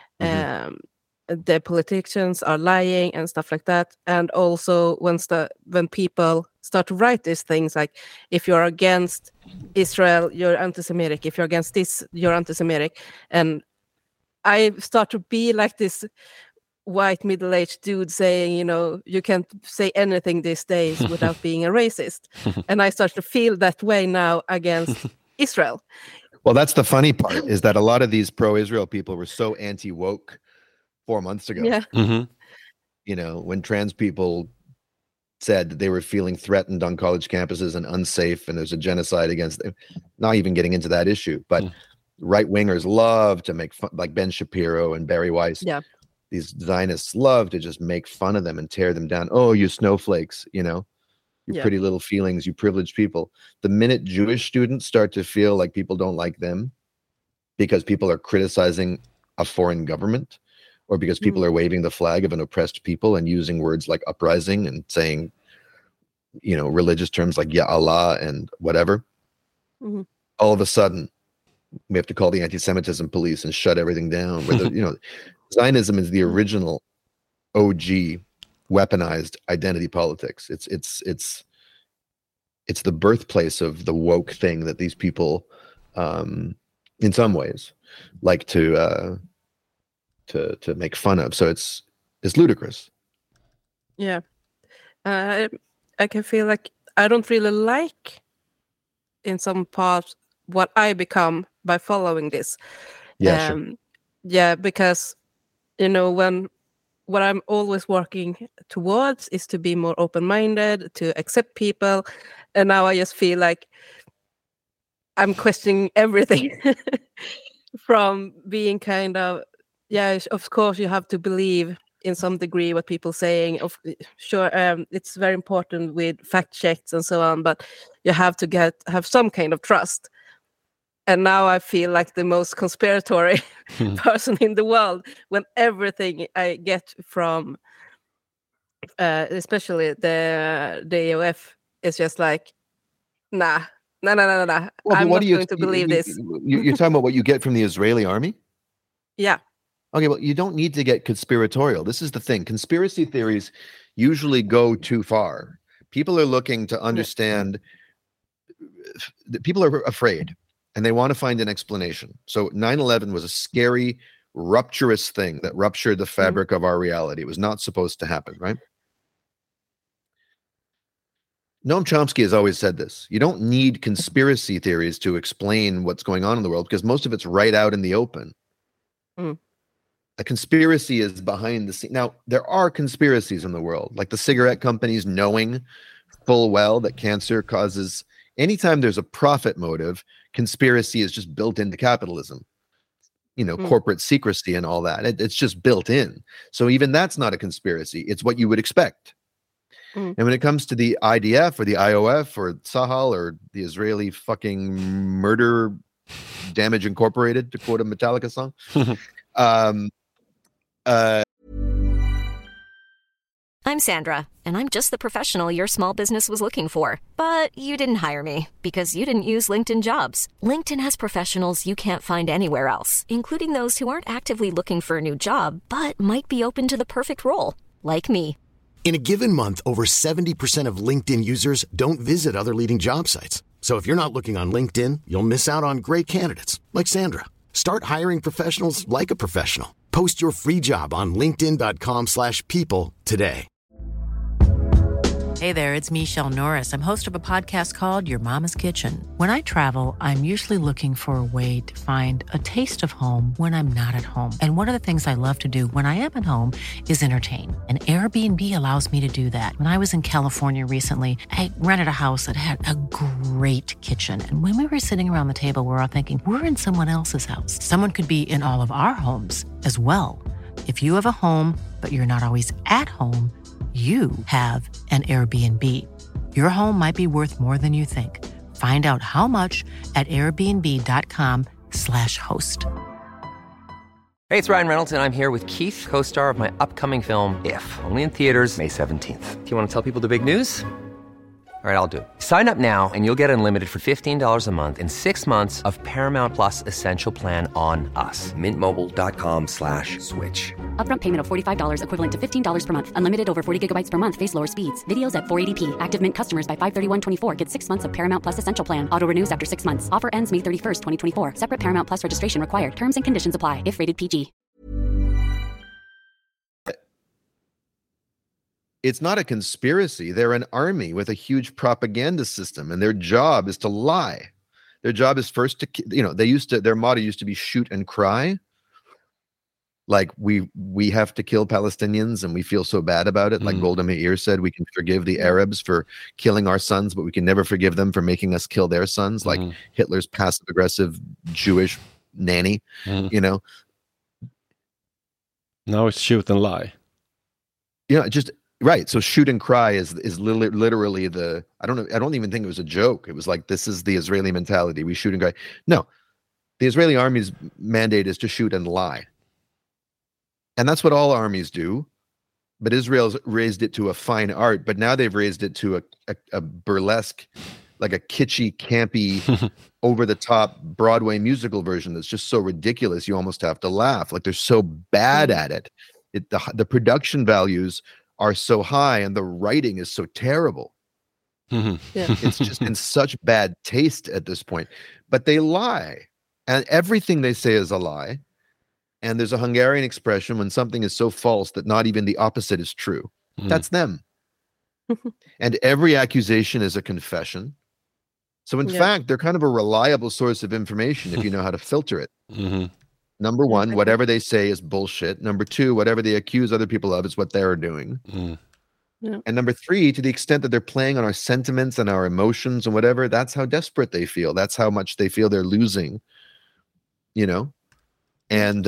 the politicians are lying and stuff like that. And also when people start to write these things like, if you're against Israel, you're anti-Semitic. If you're against this, you're anti-Semitic. And I start to be like this white middle-aged dude saying, you know, you can't say anything these days without being a racist. And I start to feel that way now against Israel. Well, that's the funny part, is that a lot of these pro-Israel people were so anti-woke 4 months ago. Yeah. You know, when trans people said that they were feeling threatened on college campuses and unsafe, and there's a genocide against them. Not even getting into that issue, but right-wingers love to make fun, like Ben Shapiro and Barry Weiss. Yeah. These Zionists love to just make fun of them and tear them down. Oh, you snowflakes, you know, you pretty little feelings, you privileged people. The minute Jewish students start to feel like people don't like them because people are criticizing a foreign government, or because people are waving the flag of an oppressed people and using words like uprising and saying, you know, religious terms like Ya Allah and whatever, all of a sudden we have to call the anti-Semitism police and shut everything down. Where you know, Zionism is the original OG weaponized identity politics. It's the birthplace of the woke thing that these people, in some ways, like to make fun of. So it's ludicrous. Yeah, I can feel like I don't really like, in some parts, what I become by following this. Yeah, sure. Yeah, because, you know, what I'm always working towards is to be more open-minded, to accept people, and now I just feel like I'm questioning everything from being kind of, yeah, of course you have to believe in some degree what people saying. Sure, it's very important with fact checks and so on, but you have to have some kind of trust. And now I feel like the most conspiratory person in the world when everything I get from, especially the AOF, is just like, nah. Well, I'm not going to believe this. You're talking about what you get from the Israeli army? Yeah. Okay, well, you don't need to get conspiratorial. This is the thing. Conspiracy theories usually go too far. People are looking to understand. People are afraid, and they want to find an explanation. So 9/11 was a scary, rupturous thing that ruptured the fabric of our reality. It was not supposed to happen, right? Noam Chomsky has always said this. You don't need conspiracy theories to explain what's going on in the world, because most of it's right out in the open. A conspiracy is behind the scene. Now, there are conspiracies in the world, like the cigarette companies knowing full well that cancer causes. Anytime there's a profit motive, conspiracy is just built into capitalism. You know, corporate secrecy and all that. It's just built in. So even that's not a conspiracy. It's what you would expect. And when it comes to the IDF or the IOF or Sahal or the Israeli fucking murder damage incorporated, to quote a Metallica song, I'm Sandra, and I'm just the professional your small business was looking for. But you didn't hire me because you didn't use LinkedIn Jobs. LinkedIn has professionals you can't find anywhere else, including those who aren't actively looking for a new job, but might be open to the perfect role, like me. In a given month, over 70% of LinkedIn users don't visit other leading job sites. So if you're not looking on LinkedIn, you'll miss out on great candidates like Sandra. Start hiring professionals like a professional. Post your free job on linkedin.com/people today. Hey there, it's Michelle Norris. I'm host of a podcast called Your Mama's Kitchen. When I travel, I'm usually looking for a way to find a taste of home when I'm not at home. And one of the things I love to do when I am at home is entertain. And Airbnb allows me to do that. When I was in California recently, I rented a house that had a great kitchen. And when we were sitting around the table, we were all thinking, we're in someone else's house. Someone could be in all of our homes as well. If you have a home, but you're not always at home, you have an Airbnb. Your home might be worth more than you think. Find out how much at airbnb.com/host. Hey, it's Ryan Reynolds, and I'm here with Keith, co-star of my upcoming film, If, only in theaters May 17th. Do you want to tell people the big news? All right, I'll do it. Sign up now and you'll get unlimited for $15 a month and 6 months of Paramount Plus Essential Plan on us. MintMobile.com/switch. Upfront payment of $45 equivalent to $15 per month. Unlimited over 40 gigabytes per month. Face lower speeds. Videos at 480p. Active Mint customers by 531.24 get 6 months of Paramount Plus Essential Plan. Auto renews after 6 months. Offer ends May 31st, 2024. Separate Paramount Plus registration required. Terms and conditions apply if rated PG. it's not a conspiracy. They're an army with a huge propaganda system, and their job is to lie. Their job is first to, their motto used to be shoot and cry. Like we have to kill Palestinians and we feel so bad about it. Like Golda Meir said, we can forgive the Arabs for killing our sons, but we can never forgive them for making us kill their sons. Like Hitler's passive aggressive Jewish nanny, Now it's shoot and lie. Just right. So shoot and cry is literally I don't even think it was a joke. It was like, this is the Israeli mentality. We shoot and cry. No, the Israeli army's mandate is to shoot and lie. And that's what all armies do. But Israel's raised it to a fine art. But now they've raised it to a burlesque, like a kitschy, campy, over-the-top Broadway musical version that's just so ridiculous you almost have to laugh. Like they're so bad at it. The production values are so high and the writing is so terrible. It's just in such bad taste at this point. But they lie. And everything they say is a lie. And there's a Hungarian expression when something is so false that not even the opposite is true. That's them. And every accusation is a confession. So in fact, they're kind of a reliable source of information if you know how to filter it. Number one, whatever they say is bullshit. Number two, whatever they accuse other people of is what they're doing. And number three, to the extent that they're playing on our sentiments and our emotions and whatever, that's how desperate they feel. That's how much they feel they're losing, And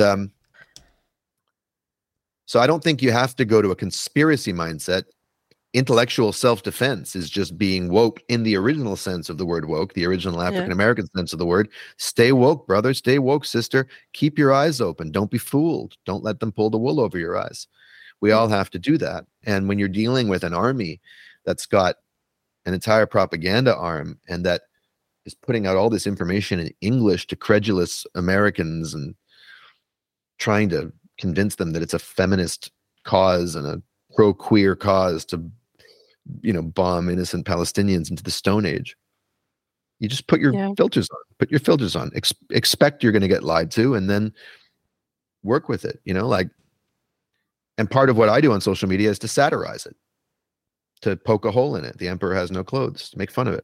so I don't think you have to go to a conspiracy mindset. Intellectual self-defense is just being woke in the original sense of the word woke, the original African-American sense of the word. Stay woke, brother. Stay woke, sister. Keep your eyes open. Don't be fooled. Don't let them pull the wool over your eyes. We all have to do that. And when you're dealing with an army that's got an entire propaganda arm and that is putting out all this information in English to credulous Americans and trying to convince them that it's a feminist cause and a pro-queer cause to, bomb innocent Palestinians into the Stone Age. You just put your filters on. Put your filters on. Expect you're going to get lied to, and then work with it. And part of what I do on social media is to satirize it, to poke a hole in it. The emperor has no clothes. To make fun of it.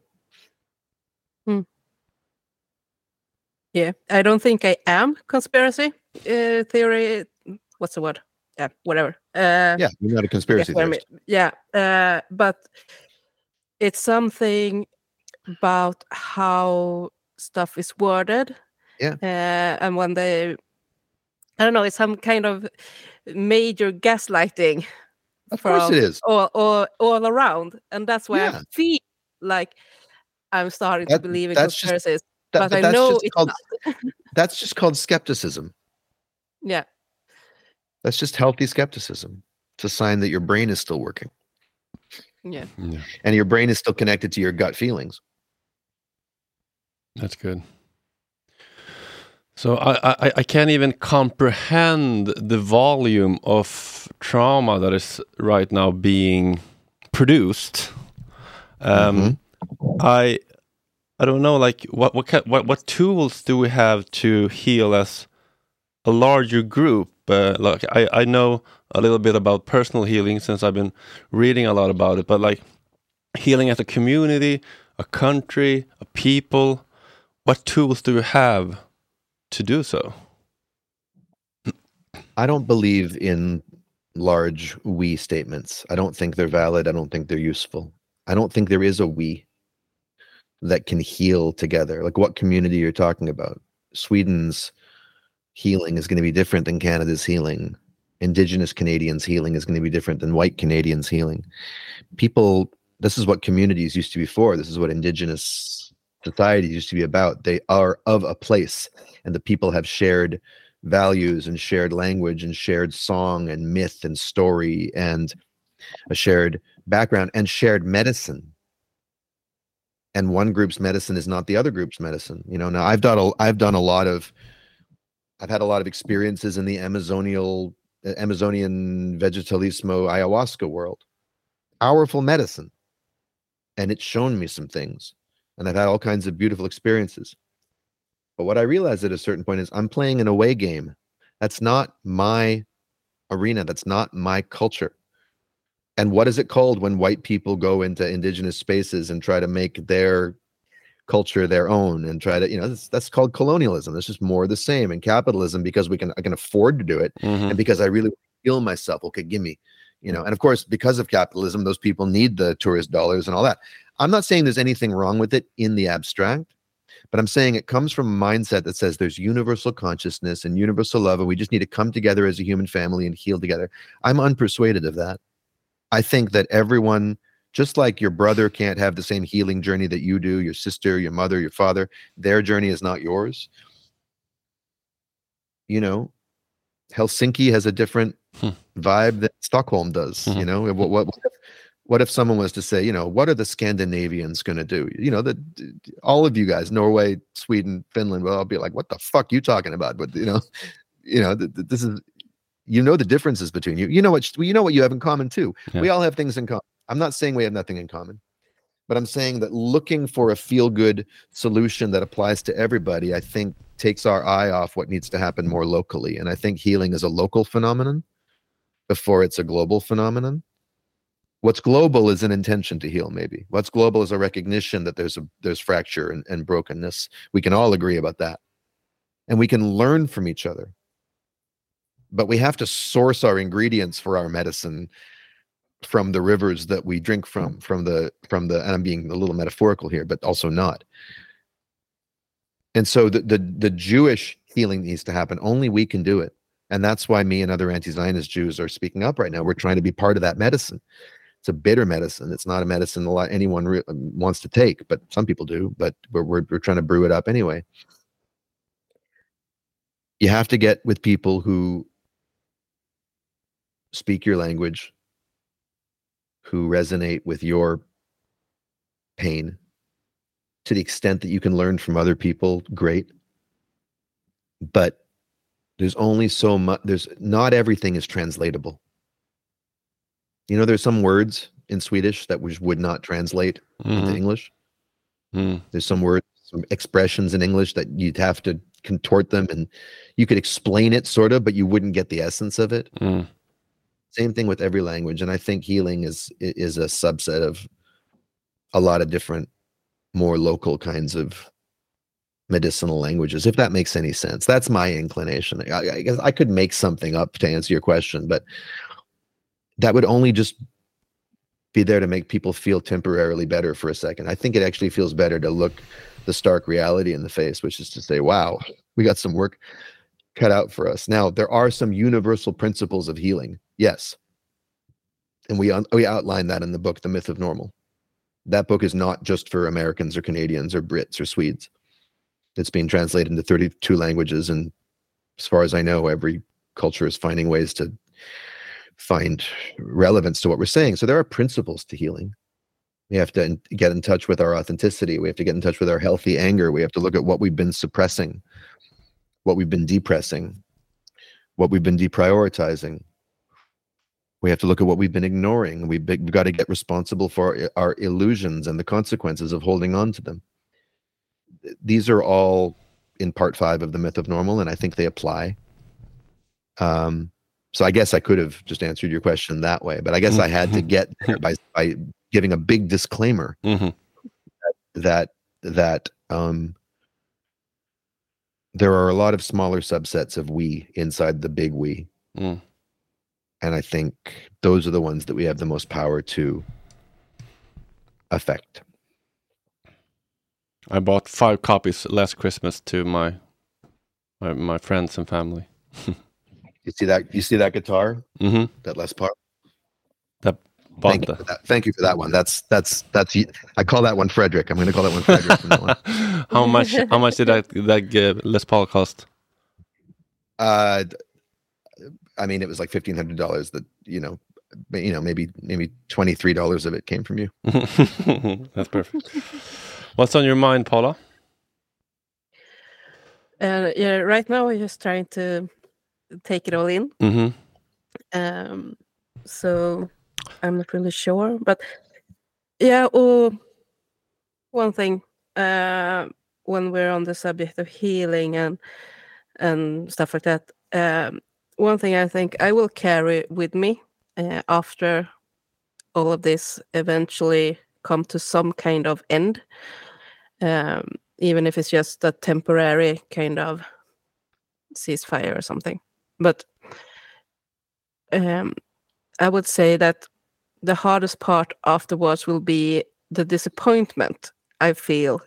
Yeah, I don't think I am conspiracy theory. What's the word? Yeah, whatever. You're not a conspiracy theorist. But it's something about how stuff is worded. And when they, I don't know, it's some kind of major gaslighting. Of course it is. All around. And that's why I feel like I'm starting to believe in conspiracies. But I know it's not. That's just called skepticism. Yeah. That's just healthy skepticism. It's a sign that your brain is still working. Yeah. And your brain is still connected to your gut feelings. That's good. So I can't even comprehend the volume of trauma that is right now being produced. I don't know, like what tools do we have to heal as a larger group? Like I know a little bit about personal healing since I've been reading a lot about it, but like healing as a community, a country, a people, what tools do we have to do so? I don't believe in large we statements. I don't think they're valid. I don't think they're useful. I don't think there is a we that can heal together. Like what community you're talking about. Sweden's healing is going to be different than Canada's healing. Indigenous Canadians' healing is going to be different than white Canadians' healing. People, this is what communities used to be for. This is what Indigenous societies used to be about. They are of a place, and the people have shared values and shared language and shared song and myth and story and a shared background and shared medicine. And one group's medicine is not the other group's medicine. Now I've had a lot of experiences in the Amazonian vegetalismo ayahuasca world. Powerful medicine. And it's shown me some things. And I've had all kinds of beautiful experiences. But what I realized at a certain point is I'm playing an away game. That's not my arena. That's not my culture. And what is it called when white people go into indigenous spaces and try to make their culture their own and try to, that's called colonialism. It's just more of the same. And capitalism, because I can afford to do it, and because I really feel myself, okay, give me, and of course, because of capitalism, those people need the tourist dollars and all that. I'm not saying there's anything wrong with it in the abstract, but I'm saying it comes from a mindset that says there's universal consciousness and universal love, and we just need to come together as a human family and heal together. I'm unpersuaded of that. I think that everyone, just like your brother can't have the same healing journey that you do, your sister, your mother, your father, their journey is not yours. Helsinki has a different vibe that Stockholm does. What if someone was to say, what are the Scandinavians going to do? All of you guys, Norway, Sweden, Finland, well, I'll be like, what the fuck you talking about? But this is, the differences between you. You know what you have in common too. Yeah. We all have things in common. I'm not saying we have nothing in common, but I'm saying that looking for a feel-good solution that applies to everybody, I think takes our eye off what needs to happen more locally. And I think healing is a local phenomenon before it's a global phenomenon. What's global is an intention to heal, maybe. What's global is a recognition that there's fracture and brokenness. We can all agree about that. And we can learn from each other. But we have to source our ingredients for our medicine from the rivers that we drink from the, and I'm being a little metaphorical here, but also not. And so the Jewish healing needs to happen. Only we can do it. And that's why me and other anti-Zionist Jews are speaking up right now. We're trying to be part of that medicine. It's a bitter medicine. It's not a medicine anyone wants to take, but some people do. But we're trying to brew it up anyway. You have to get with people who speak your language, who resonate with your pain. To the extent that you can learn from other people, great. But there's only so much. Not everything is translatable. There's some words in Swedish that would not translate into English. There's some words, some expressions in English that you'd have to contort them, and you could explain it sort of, but you wouldn't get the essence of it. Same thing with every language. And I think healing is a subset of a lot of different, more local kinds of medicinal languages, if that makes any sense. That's my inclination. I guess I could make something up to answer your question, but that would only just be there to make people feel temporarily better for a second. I think it actually feels better to look the stark reality in the face, which is to say, wow, we got some work cut out for us. Now, there are some universal principles of healing. Yes. And we outline that in the book, The Myth of Normal. That book is not just for Americans or Canadians or Brits or Swedes. It's being translated into 32 languages. And as far as I know, every culture is finding ways to find relevance to what we're saying. So there are principles to healing. We have to get in touch with our authenticity. We have to get in touch with our healthy anger. We have to look at what we've been suppressing, what we've been depressing, what we've been deprioritizing. We have to look at what we've been ignoring. We've got to get responsible for our illusions and the consequences of holding on to them. These are all in part 5 of The Myth of Normal, and I think they apply. So I guess I could have just answered your question that way, but I guess I had to get there by giving a big disclaimer that there are a lot of smaller subsets of we inside the big we. And I think those are the ones that we have the most power to affect. I bought 5 copies last Christmas to my friends and family. You see that guitar? That Les Paul? Thank you for that one. That's I call that one Frederick. I'm going to call that one Frederick from now on. How much did that Les Paul cost? I mean, it was like $1,500 that, maybe $23 of it came from you. That's perfect. What's on your mind, Paula? Right now we're just trying to take it all in. So I'm not really sure, but one thing, when we're on the subject of healing and stuff like that, one thing I think I will carry with me after all of this eventually come to some kind of end, even if it's just a temporary kind of ceasefire or something. But I would say that the hardest part afterwards will be the disappointment I feel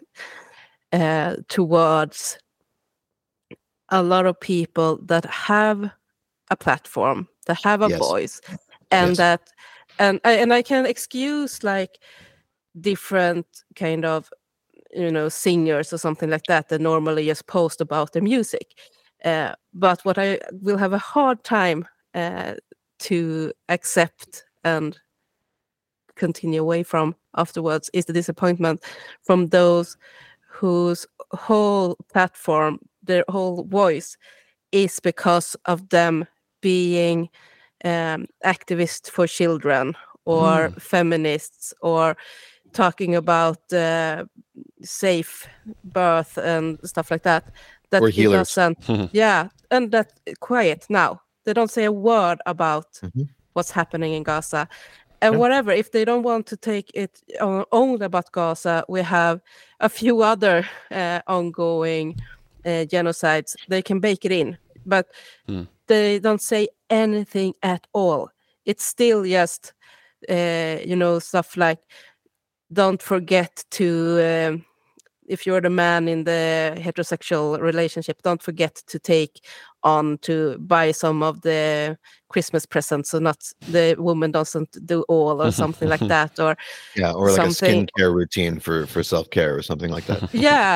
towards a lot of people that have a platform, that have a voice, and and I can excuse like different kind of singers or something like that normally just post about their music, but what I will have a hard time to accept and continue away from afterwards is the disappointment from those whose whole platform, their whole voice is because of them being activists for children or feminists or talking about safe birth and stuff like that. That or healers. And that quiet now. They don't say a word about what's happening in Gaza. And whatever, if they don't want to take it only about Gaza, we have a few other ongoing genocides. They can bake it in, but they don't say anything at all. It's still just, stuff like, don't forget to, if you're the man in the heterosexual relationship, don't forget to take on to buy some of the Christmas presents, so not the woman doesn't do all or something like that, or or like a skincare routine for self-care or something like that.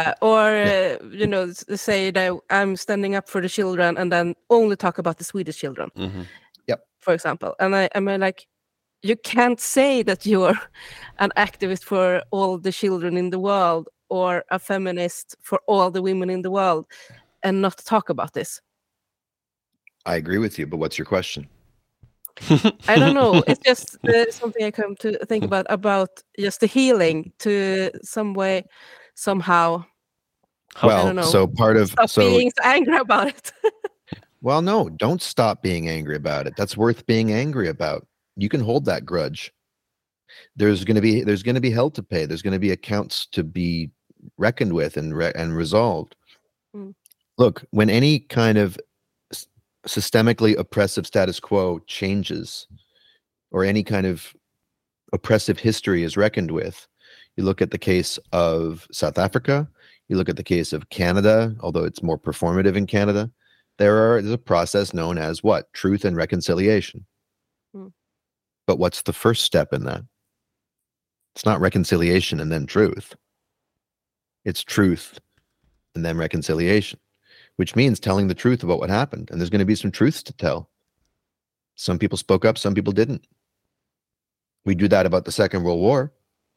Say that I'm standing up for the children and then only talk about the Swedish children, for example. And I'm like, you can't say that you're an activist for all the children in the world or a feminist for all the women in the world and not talk about this. I agree with you, but what's your question? I don't know. It's just something I come to think about just the healing to some way, somehow. Well, I don't know. So part of being so angry about it. Well, no, don't stop being angry about it. That's worth being angry about. You can hold that grudge. There's going to be hell to pay. There's going to be accounts to be reckoned with and resolved. Look, when any kind of systemically oppressive status quo changes, or any kind of oppressive history is reckoned with, you look at the case of South Africa, you look at the case of Canada, although it's more performative in Canada, there's a process known as what? Truth and reconciliation. But what's the first step in that? It's not reconciliation and then truth. It's truth and then reconciliation, which means telling the truth about what happened. And there's going to be some truths to tell. Some people spoke up, some people didn't. We do that about the Second World War.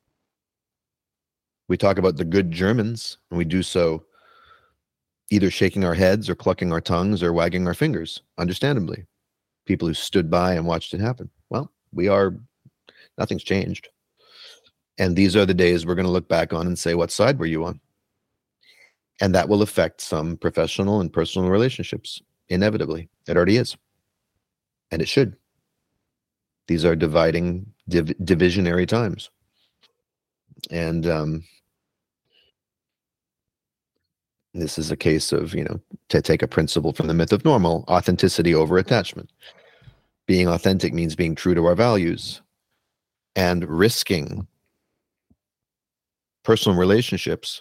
We talk about the good Germans, and we do so either shaking our heads or clucking our tongues or wagging our fingers, understandably. People who stood by and watched it happen. Well, nothing's changed. And these are the days we're going to look back on and say, what side were you on? And that will affect some professional and personal relationships, inevitably. It already is. And it should. These are divisionary times. And this is a case of, to take a principle from the myth of normal, authenticity over attachment. Being authentic means being true to our values and risking personal relationships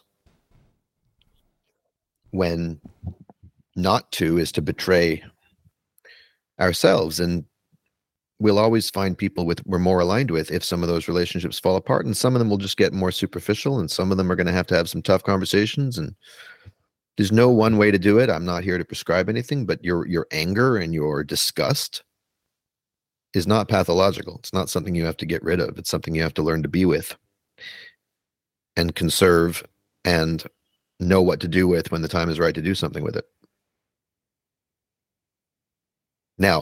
when not to is to betray ourselves. And we'll always find people we're more aligned with if some of those relationships fall apart, and some of them will just get more superficial, and some of them are going to have some tough conversations. And there's no one way to do it. I'm not here to prescribe anything, but your anger and your disgust is not pathological. It's not something you have to get rid of. It's something you have to learn to be with and conserve and know what to do with when the time is right to do something with it. Now,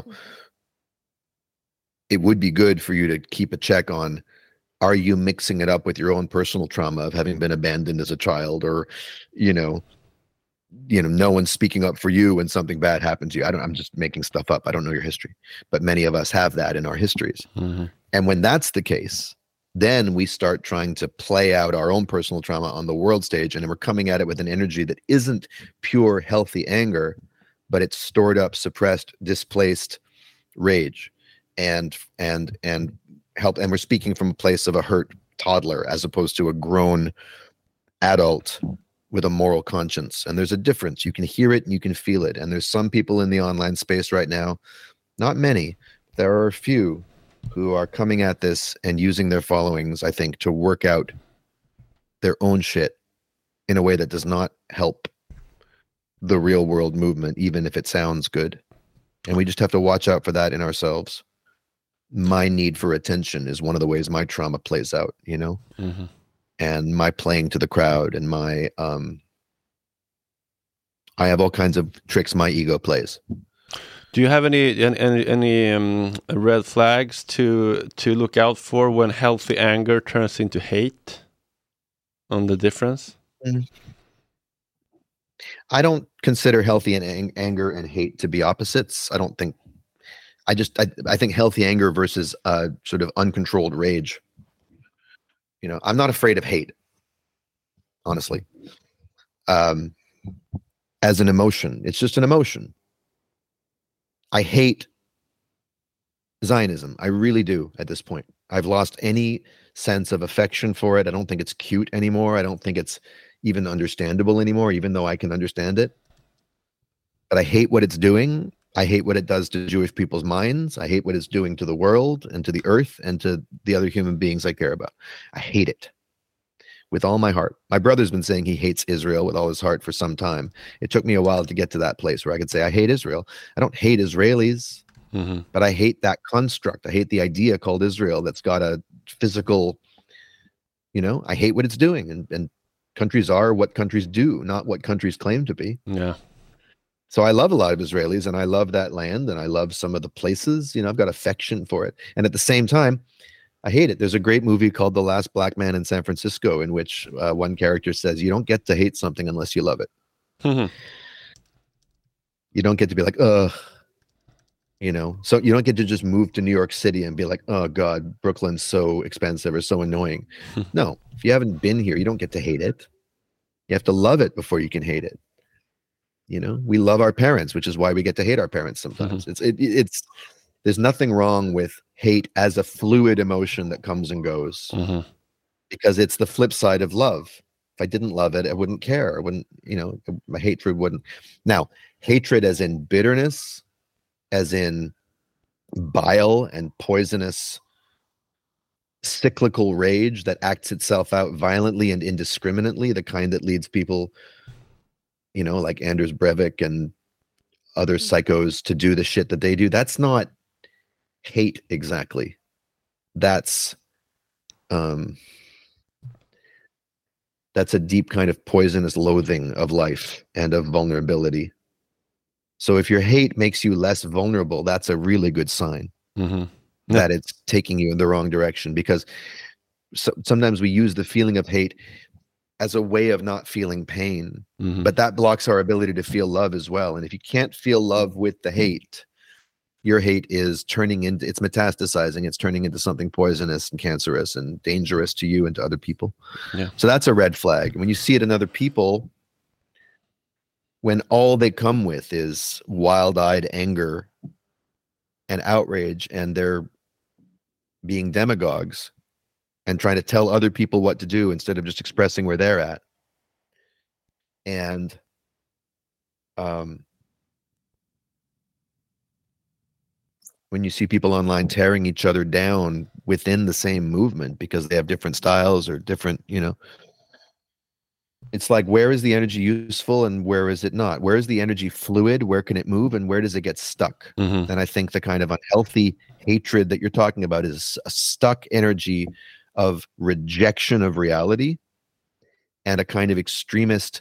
it would be good for you to keep a check on, are you mixing it up with your own personal trauma of having been abandoned as a child, or, no one's speaking up for you when something bad happened to you. I'm just making stuff up. I don't know your history, but many of us have that in our histories. And when that's the case, then we start trying to play out our own personal trauma on the world stage, and we're coming at it with an energy that isn't pure healthy anger, but it's stored up, suppressed, displaced rage, and we're speaking from a place of a hurt toddler as opposed to a grown adult with a moral conscience. And there's a difference. You can hear it and you can feel it. And there's some people in the online space right now, not many, there are a few who are coming at this and using their followings, I think, to work out their own shit in a way that does not help the real world movement, even if it sounds good. And we just have to watch out for that in ourselves. My need for attention is one of the ways my trauma plays out, you know? Mm-hmm. And my playing to the crowd and my, I have all kinds of tricks my ego plays. Do you have any red flags to look out for when healthy anger turns into hate? On the difference? I don't consider healthy anger and hate to be opposites. I don't think. I think healthy anger versus sort of uncontrolled rage. You know, I'm not afraid of hate, honestly. As an emotion, it's just an emotion. I hate Zionism. I really do at this point. I've lost any sense of affection for it. I don't think it's cute anymore. I don't think it's even understandable anymore, even though I can understand it. But I hate what it's doing. I hate what it does to Jewish people's minds. I hate what it's doing to the world and to the earth and to the other human beings I care about. I hate it with all my heart. My brother's been saying he hates Israel with all his heart for some time. It took me a while to get to that place where I could say I hate Israel. I don't hate Israelis, but I hate that construct. I hate the idea called Israel that's got a physical, you know, I hate what it's doing. And countries are what countries do, not what countries claim to be. Yeah. So I love a lot of Israelis and I love that land and I love some of the places, you know, I've got affection for it. And at the same time, I hate it. There's a great movie called The Last Black Man in San Francisco in which one character says, you don't get to hate something unless you love it. You don't get to be like, you know, so you don't get to just move to New York City and be like, oh God, Brooklyn's so expensive or so annoying. No, if you haven't been here, you don't get to hate it. You have to love it before you can hate it. You know, we love our parents, which is why we get to hate our parents sometimes. It's there's nothing wrong with hate as a fluid emotion that comes and goes because it's the flip side of love. If I didn't love it, I wouldn't care. I wouldn't, you know, my hatred wouldn't. Now, hatred as in bitterness, as in bile and poisonous cyclical rage that acts itself out violently and indiscriminately, the kind that leads people, you know, like Anders Breivik and other psychos to do the shit that they do. That's not hate exactly. That's a deep kind of poisonous loathing of life and of vulnerability. So if your hate makes you less vulnerable, that's a really good sign that it's taking you in the wrong direction, because sometimes we use the feeling of hate as a way of not feeling pain, but that blocks our ability to feel love as well. And if you can't feel love with the hate, your hate is it's metastasizing. It's turning into something poisonous and cancerous and dangerous to you and to other people. Yeah. So that's a red flag. When you see it in other people, when all they come with is wild-eyed anger and outrage, and they're being demagogues and trying to tell other people what to do instead of just expressing where they're at. And when you see people online tearing each other down within the same movement because they have different styles or different, you know, it's like, where is the energy useful and where is it not? Where is the energy fluid? Where can it move and where does it get stuck? And I think the kind of unhealthy hatred that you're talking about is a stuck energy of rejection of reality and a kind of extremist,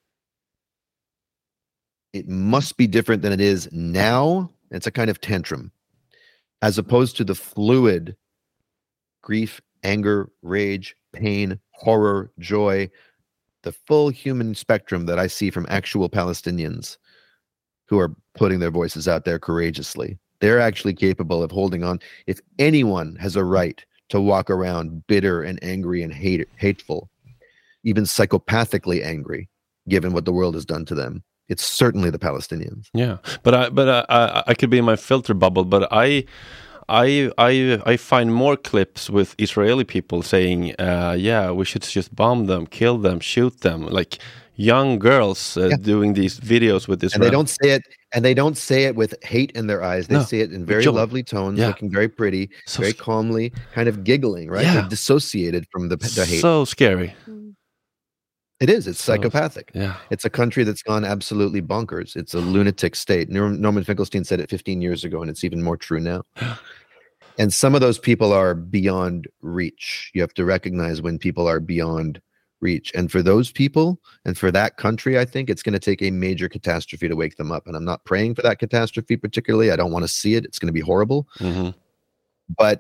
it must be different than it is now. It's a kind of tantrum, as opposed to the fluid grief, anger, rage, pain, horror, joy, the full human spectrum that I see from actual Palestinians who are putting their voices out there courageously. They're actually capable of holding on. If anyone has a right to walk around bitter and angry and hateful, even psychopathically angry, given what the world has done to them, it's certainly the Palestinians. Yeah, but I could be in my filter bubble, but I find more clips with Israeli people saying, yeah, we should just bomb them, kill them, shoot them, like young girls doing these videos with this. And they don't say it with hate in their eyes. They say it in very lovely tones, looking very pretty, so very calmly, kind of giggling, right? They're dissociated from the hate. So scary. It is. It's psychopathic. Yeah. It's a country that's gone absolutely bonkers. It's a lunatic state. Norman Finkelstein said it 15 years ago, and it's even more true now. And some of those people are beyond reach. You have to recognize when people are beyond reach. And for those people and for that country, I think it's going to take a major catastrophe to wake them up. And I'm not praying for that catastrophe particularly. I don't want to see it. It's going to be horrible. Mm-hmm. But,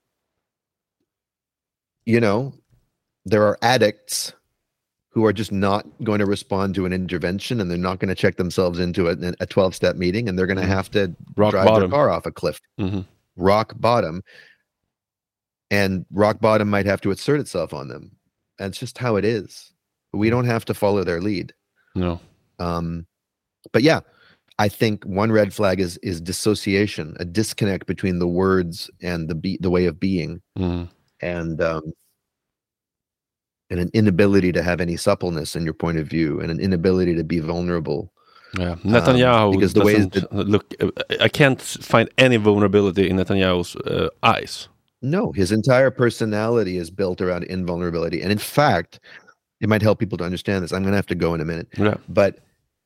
you know, there are addicts who are just not going to respond to an intervention, and they're not going to check themselves into a 12-step meeting, and they're going to have to drive their car off a cliff. Mm-hmm. Rock bottom. And rock bottom might have to assert itself on them. That's just how it is. We don't have to follow their lead. No. But yeah, I think one red flag is dissociation, a disconnect between the words and the way of being, and an inability to have any suppleness in your point of view, and an inability to be vulnerable. Yeah, Netanyahu because the way that look, I can't find any vulnerability in Netanyahu's eyes. No, his entire personality is built around invulnerability. And in fact, it might help people to understand this. I'm going to have to go in a minute. Yeah. But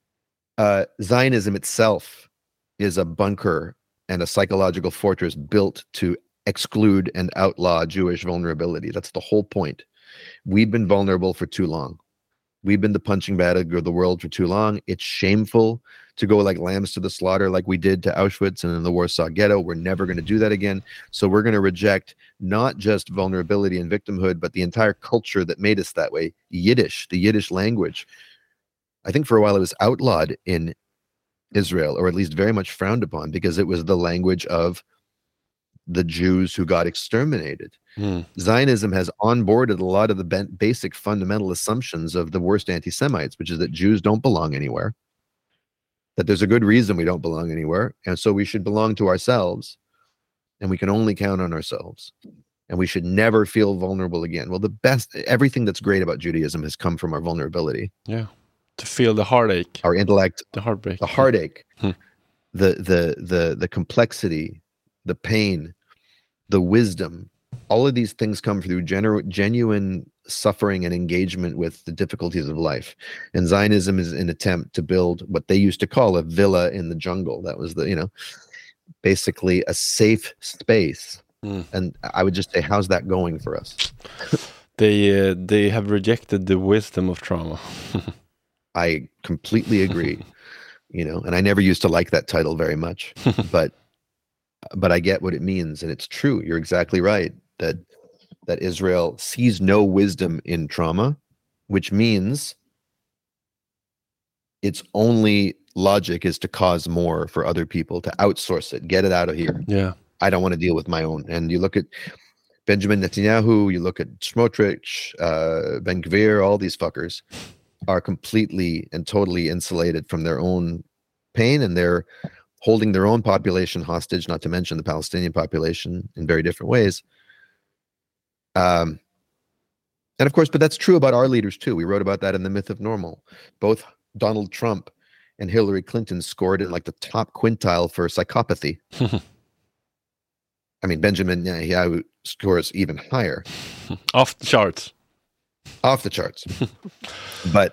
Zionism itself is a bunker and a psychological fortress built to exclude and outlaw Jewish vulnerability. That's the whole point. We've been vulnerable for too long. We've been the punching bag of the world for too long. It's shameful to go like lambs to the slaughter like we did to Auschwitz and in the Warsaw Ghetto. We're never going to do that again. So we're going to reject not just vulnerability and victimhood, but the entire culture that made us that way. Yiddish, the Yiddish language. I think for a while it was outlawed in Israel, or at least very much frowned upon, because it was the language of the Jews who got exterminated. Zionism has onboarded a lot of the basic fundamental assumptions of the worst anti-Semites, which is that Jews don't belong anywhere, that there's a good reason we don't belong anywhere, and so we should belong to ourselves, and we can only count on ourselves, and we should never feel vulnerable again. Well, everything that's great about Judaism has come from our vulnerability. Yeah, to feel the heartache, our intellect, the heartbreak, the heartache, the complexity, the pain, the wisdom. All of these things come through genuine suffering and engagement with the difficulties of life. And Zionism is an attempt to build what they used to call a villa in the jungle. That was basically a safe space. And I would just say, how's that going for us? They have rejected the wisdom of trauma. I completely agree. And I never used to like that title very much, but I get what it means, and it's true. You're exactly right that Israel sees no wisdom in trauma, which means its only logic is to cause more for other people, to outsource it, get it out of here. Yeah, I don't want to deal with my own. And you look at Benjamin Netanyahu, you look at Smotrich, Ben Gvir, all these fuckers are completely and totally insulated from their own pain, and they're holding their own population hostage, not to mention the Palestinian population in very different ways. And of course, but that's true about our leaders too. We wrote about that in The Myth of Normal. Both Donald Trump and Hillary Clinton scored in like the top quintile for psychopathy. I mean, Benjamin Netanyahu scores even higher. Off the charts. Off the charts. But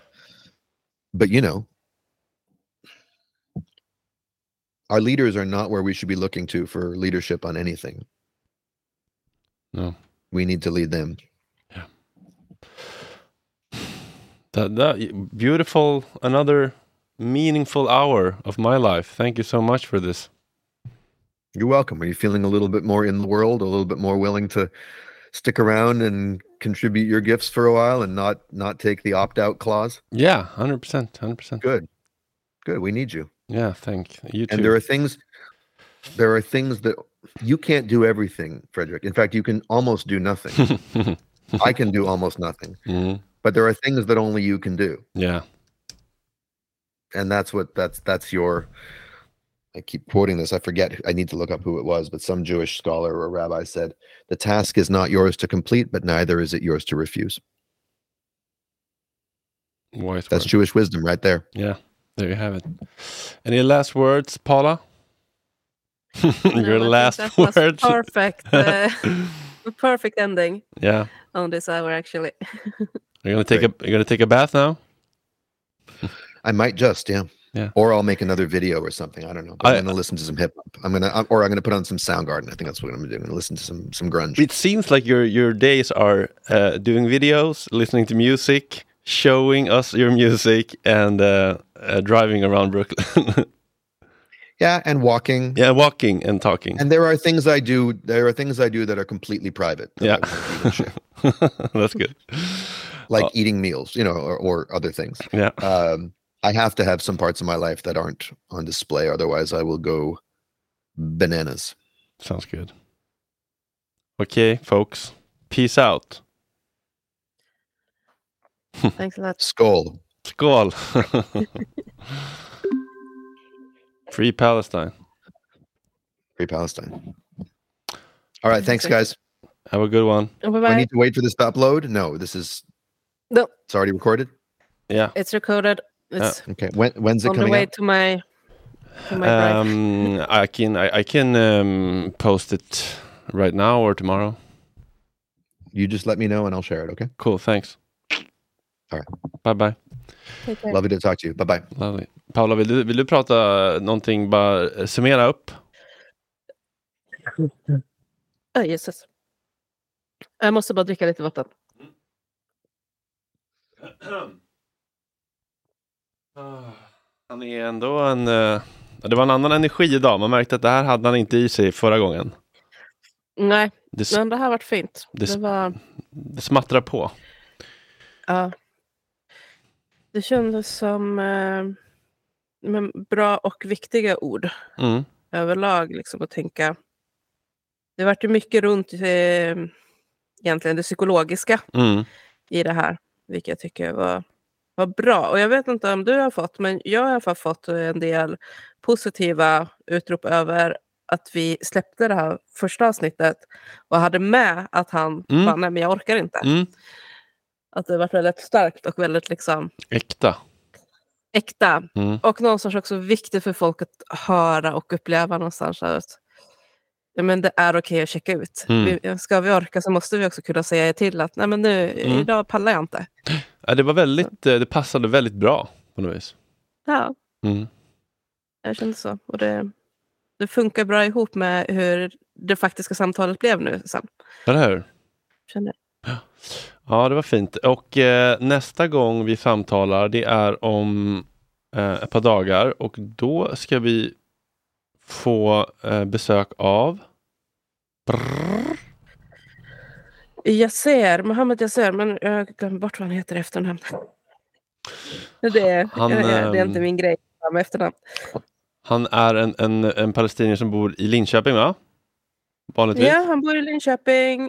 our leaders are not where we should be looking to for leadership on anything. No. We need to lead them. Yeah. That beautiful, another meaningful hour of my life. Thank you so much for this. You're welcome. Are you feeling a little bit more in the world, a little bit more willing to stick around and contribute your gifts for a while and not take the opt-out clause? Yeah, 100%. Good. We need you. Yeah, thank you too. And there are things there are things that you can't do everything, Frederick. In fact, you can almost do nothing. I can do almost nothing. Mm. But there are things that only you can do. Yeah. And that's your, I keep quoting this, I forget, I need to look up who it was, but some Jewish scholar or rabbi said, the task is not yours to complete, but neither is it yours to refuse. That's Jewish wisdom right there. Yeah, there you have it. Any last words, Paula? Your last words. Perfect. Perfect ending. Yeah. On this hour, actually. You're gonna take a bath now? I might just, yeah. Or I'll make another video or something. I don't know. I'm gonna listen to some hip hop. I'm gonna put on some Soundgarden. I think that's what I'm gonna do. I'm gonna listen to some grunge. It seems like your days are doing videos, listening to music, showing us your music, and driving around Brooklyn. Yeah, and walking. Yeah, walking and talking. And there are things I do that are completely private. Yeah. That's good. Like eating meals, or other things. Yeah. I have to have some parts of my life that aren't on display. Otherwise, I will go bananas. Sounds good. Okay, folks. Peace out. Thanks a lot. Skål. Skål. Free Palestine. Free Palestine. All right, thanks, guys. Have a good one. Bye-bye. I need to wait for this to upload. No, it's already recorded. Yeah, it's recorded. It's okay. When's it on coming the way out? to my drive. I can post it right now or tomorrow. You just let me know and I'll share it. Okay. Cool. Thanks. All right. Bye. Lovely to talk to you. Bye. Lovely. Paula, vill du prata någonting, bara summera upp? Jesus. Jag måste bara dricka lite vatten. Han är ändå det var en annan energi idag. Man märkte att det här hade han inte i sig förra gången. Nej, men det här har varit fint. Det smattrar på. Ja. Det kändes som bra och viktiga ord överlag, liksom, att tänka. Det har varit mycket runt egentligen det psykologiska i det här, vilket jag tycker var bra. Och jag vet inte om du har fått, men jag har i alla fall fått en del positiva utrop över att vi släppte det här första avsnittet och hade med att han bara, nej men jag orkar inte. Att det var väldigt starkt och väldigt liksom äkta. Och någonstans också viktigt för folk att höra och uppleva någonstans att men det är okej att checka ut. Ska vi orka så måste vi också kunna säga till att nej men nu, idag pallar jag inte. Ja, det passade väldigt bra på något vis. Ja. Jag kände så. Och det funkar bra ihop med hur det faktiska samtalet blev nu sen. Eller hur? Kände. Ja, det var fint. Och nästa gång vi samtalar, det är om ett par dagar. Och då ska vi få besök av Mohammed Yasser, men jag glömmer bort vad han heter i efternamn. Det är inte min grej med efternamn. Han är en palestinier som bor i Linköping, va? Vanligtvis. Ja, han bor i Linköping.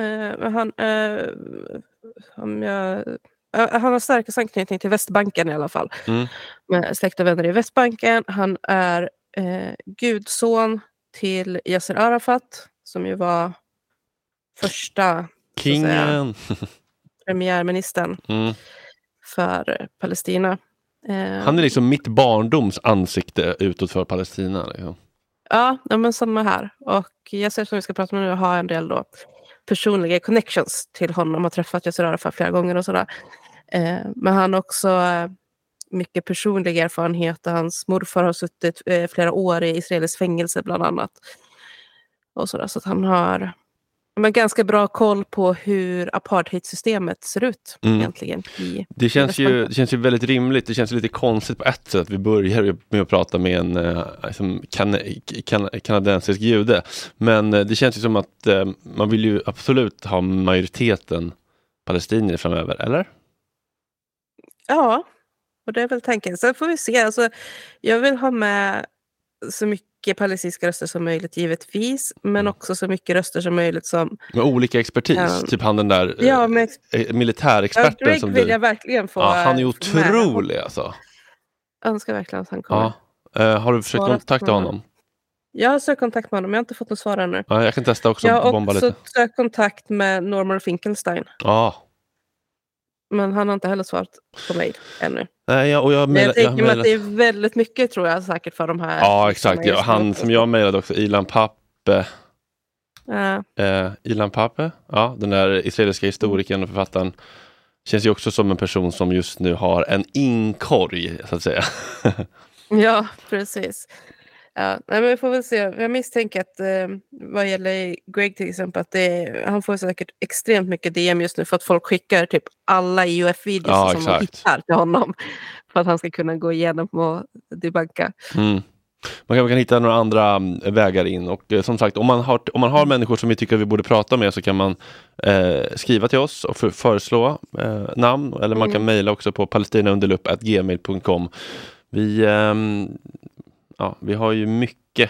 Han har starkast anknytning till Västbanken i alla fall. Med släkt och vänner i Västbanken. Han är gudson till Yasser Arafat, som ju var första kingen, premiärministern för Palestina. Han är liksom mitt barndoms ansikte utåt för Palestina. Liksom. Ja, men samma här. Och Yasser, som vi ska prata med nu, har en del då personliga connections till honom. Har träffat Yasser Arafat flera gånger och sådär. Men han har också mycket personlig erfarenhet. Hans morfar har suttit flera år i Israels fängelse bland annat. Och sådär, så att han har ganska bra koll på hur apartheidsystemet ser ut egentligen. Det känns ju väldigt rimligt. Det känns lite konstigt på ett sätt att vi börjar med att prata med en kanadensisk jude. Men det känns ju som att man vill ju absolut ha majoriteten palestinier framöver, eller? Ja, och det är väl tanken. Sen får vi se. Alltså, jag vill ha med så mycket mycket palestinska röster som möjligt givetvis, men också så mycket röster som möjligt som... Med olika expertis, typ han den där militärexperten Greg som vill jag verkligen få. Ja, han är otrolig alltså. Jag önskar verkligen att han kommer. Ja. Har du försökt kontakta honom? Jag har sökt kontakt med honom, jag har inte fått något svar ännu. Ja, jag kan testa också. Jag har bomba också lite. sökt kontakt med Norman Finkelstein. Ja. Men han har inte heller svarat på mig ännu. Nej, jag tänker mig att det är väldigt mycket, tror jag, säkert för de här. Ja, exakt. Ja, han som jag mejlade också, Ilan Pappe. Ilan Pappe, ja, den där israeliska historikern och författaren. Känns ju också som en person som just nu har en inkorg, så att säga. Ja, precis. Ja, men vi får väl se. Jag misstänker att vad gäller Greg till exempel, att han får säkert extremt mycket DM just nu för att folk skickar typ alla IOF-videos som de hittar till honom för att han ska kunna gå igenom och debunka. Man kan hitta några andra vägar in, och som sagt, om man har människor som vi tycker vi borde prata med, så kan man skriva till oss och föreslå namn, eller man kan mejla också på palestinaunderlupp@gmail.com. Vi har ju mycket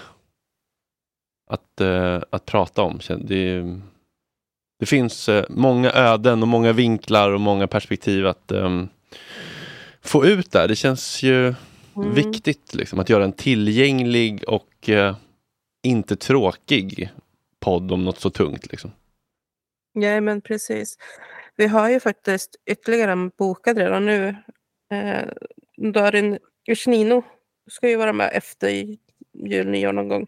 att prata om. Det finns många öden och många vinklar och många perspektiv att få ut där. Det känns ju viktigt liksom, att göra en tillgänglig och inte tråkig podd om något så tungt. Liksom. Ja, men precis. Vi har ju faktiskt ytterligare en bokad redan nu. Darin Ushnino ska ju vara med efter jul, nyår någon gång.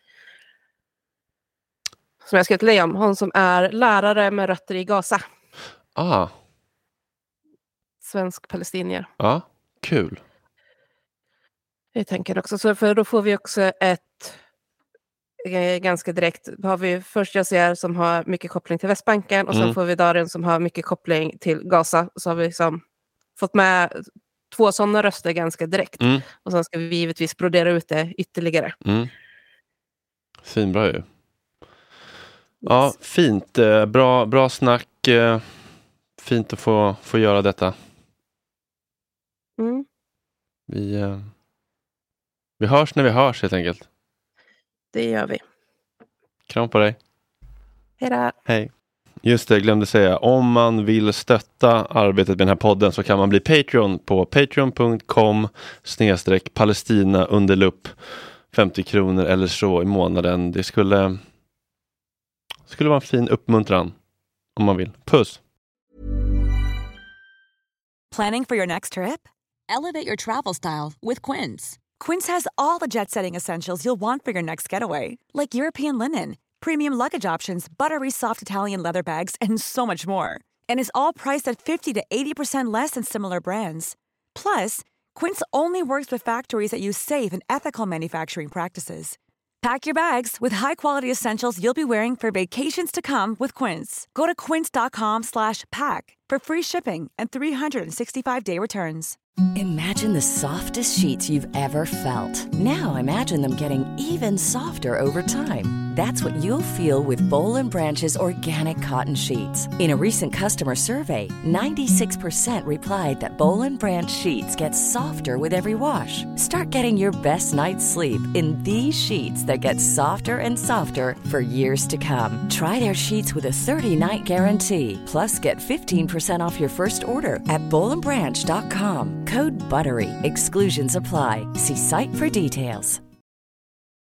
Som jag ska till om. Hon som är lärare med rötter i Gaza. Svensk palestinier. Ja, kul. Jag tänker också så, för då får vi också ett ganska direkt, har vi först Yassir som har mycket koppling till Västbanken, och sen får vi Darin som har mycket koppling till Gaza, så har vi liksom fått med 2 sådana röster ganska direkt. Och sen ska vi givetvis brodera ut det ytterligare. Finbra ju. Ja, fint. Bra snack. Fint att få göra detta. Vi hörs när vi hörs, helt enkelt. Det gör vi. Kram på dig. Hej då. Hej. Just det, jag glömde säga. Om man vill stötta arbetet med den här podden så kan man bli Patreon på patreon.com/Palestina underlupp. 50 kronor eller så i månaden. Det skulle vara en fin uppmuntran om man vill. Puss! Planning for your next trip? Elevate your travel style with Quince. Quince has all the jet-setting essentials you'll want for your next getaway, like European linen, premium luggage options, buttery soft Italian leather bags, and so much more. And is all priced at 50 to 80% less than similar brands. Plus, Quince only works with factories that use safe and ethical manufacturing practices. Pack your bags with high-quality essentials you'll be wearing for vacations to come with Quince. Go to quince.com/pack for free shipping and 365-day returns. Imagine the softest sheets you've ever felt. Now imagine them getting even softer over time. That's what you'll feel with Boll & Branch's organic cotton sheets. In a recent customer survey, 96% replied that Boll & Branch sheets get softer with every wash. Start getting your best night's sleep in these sheets that get softer and softer for years to come. Try their sheets with a 30-night guarantee. Plus, get 15% off your first order at bollandbranch.com. Code BUTTERY. Exclusions apply. See site for details.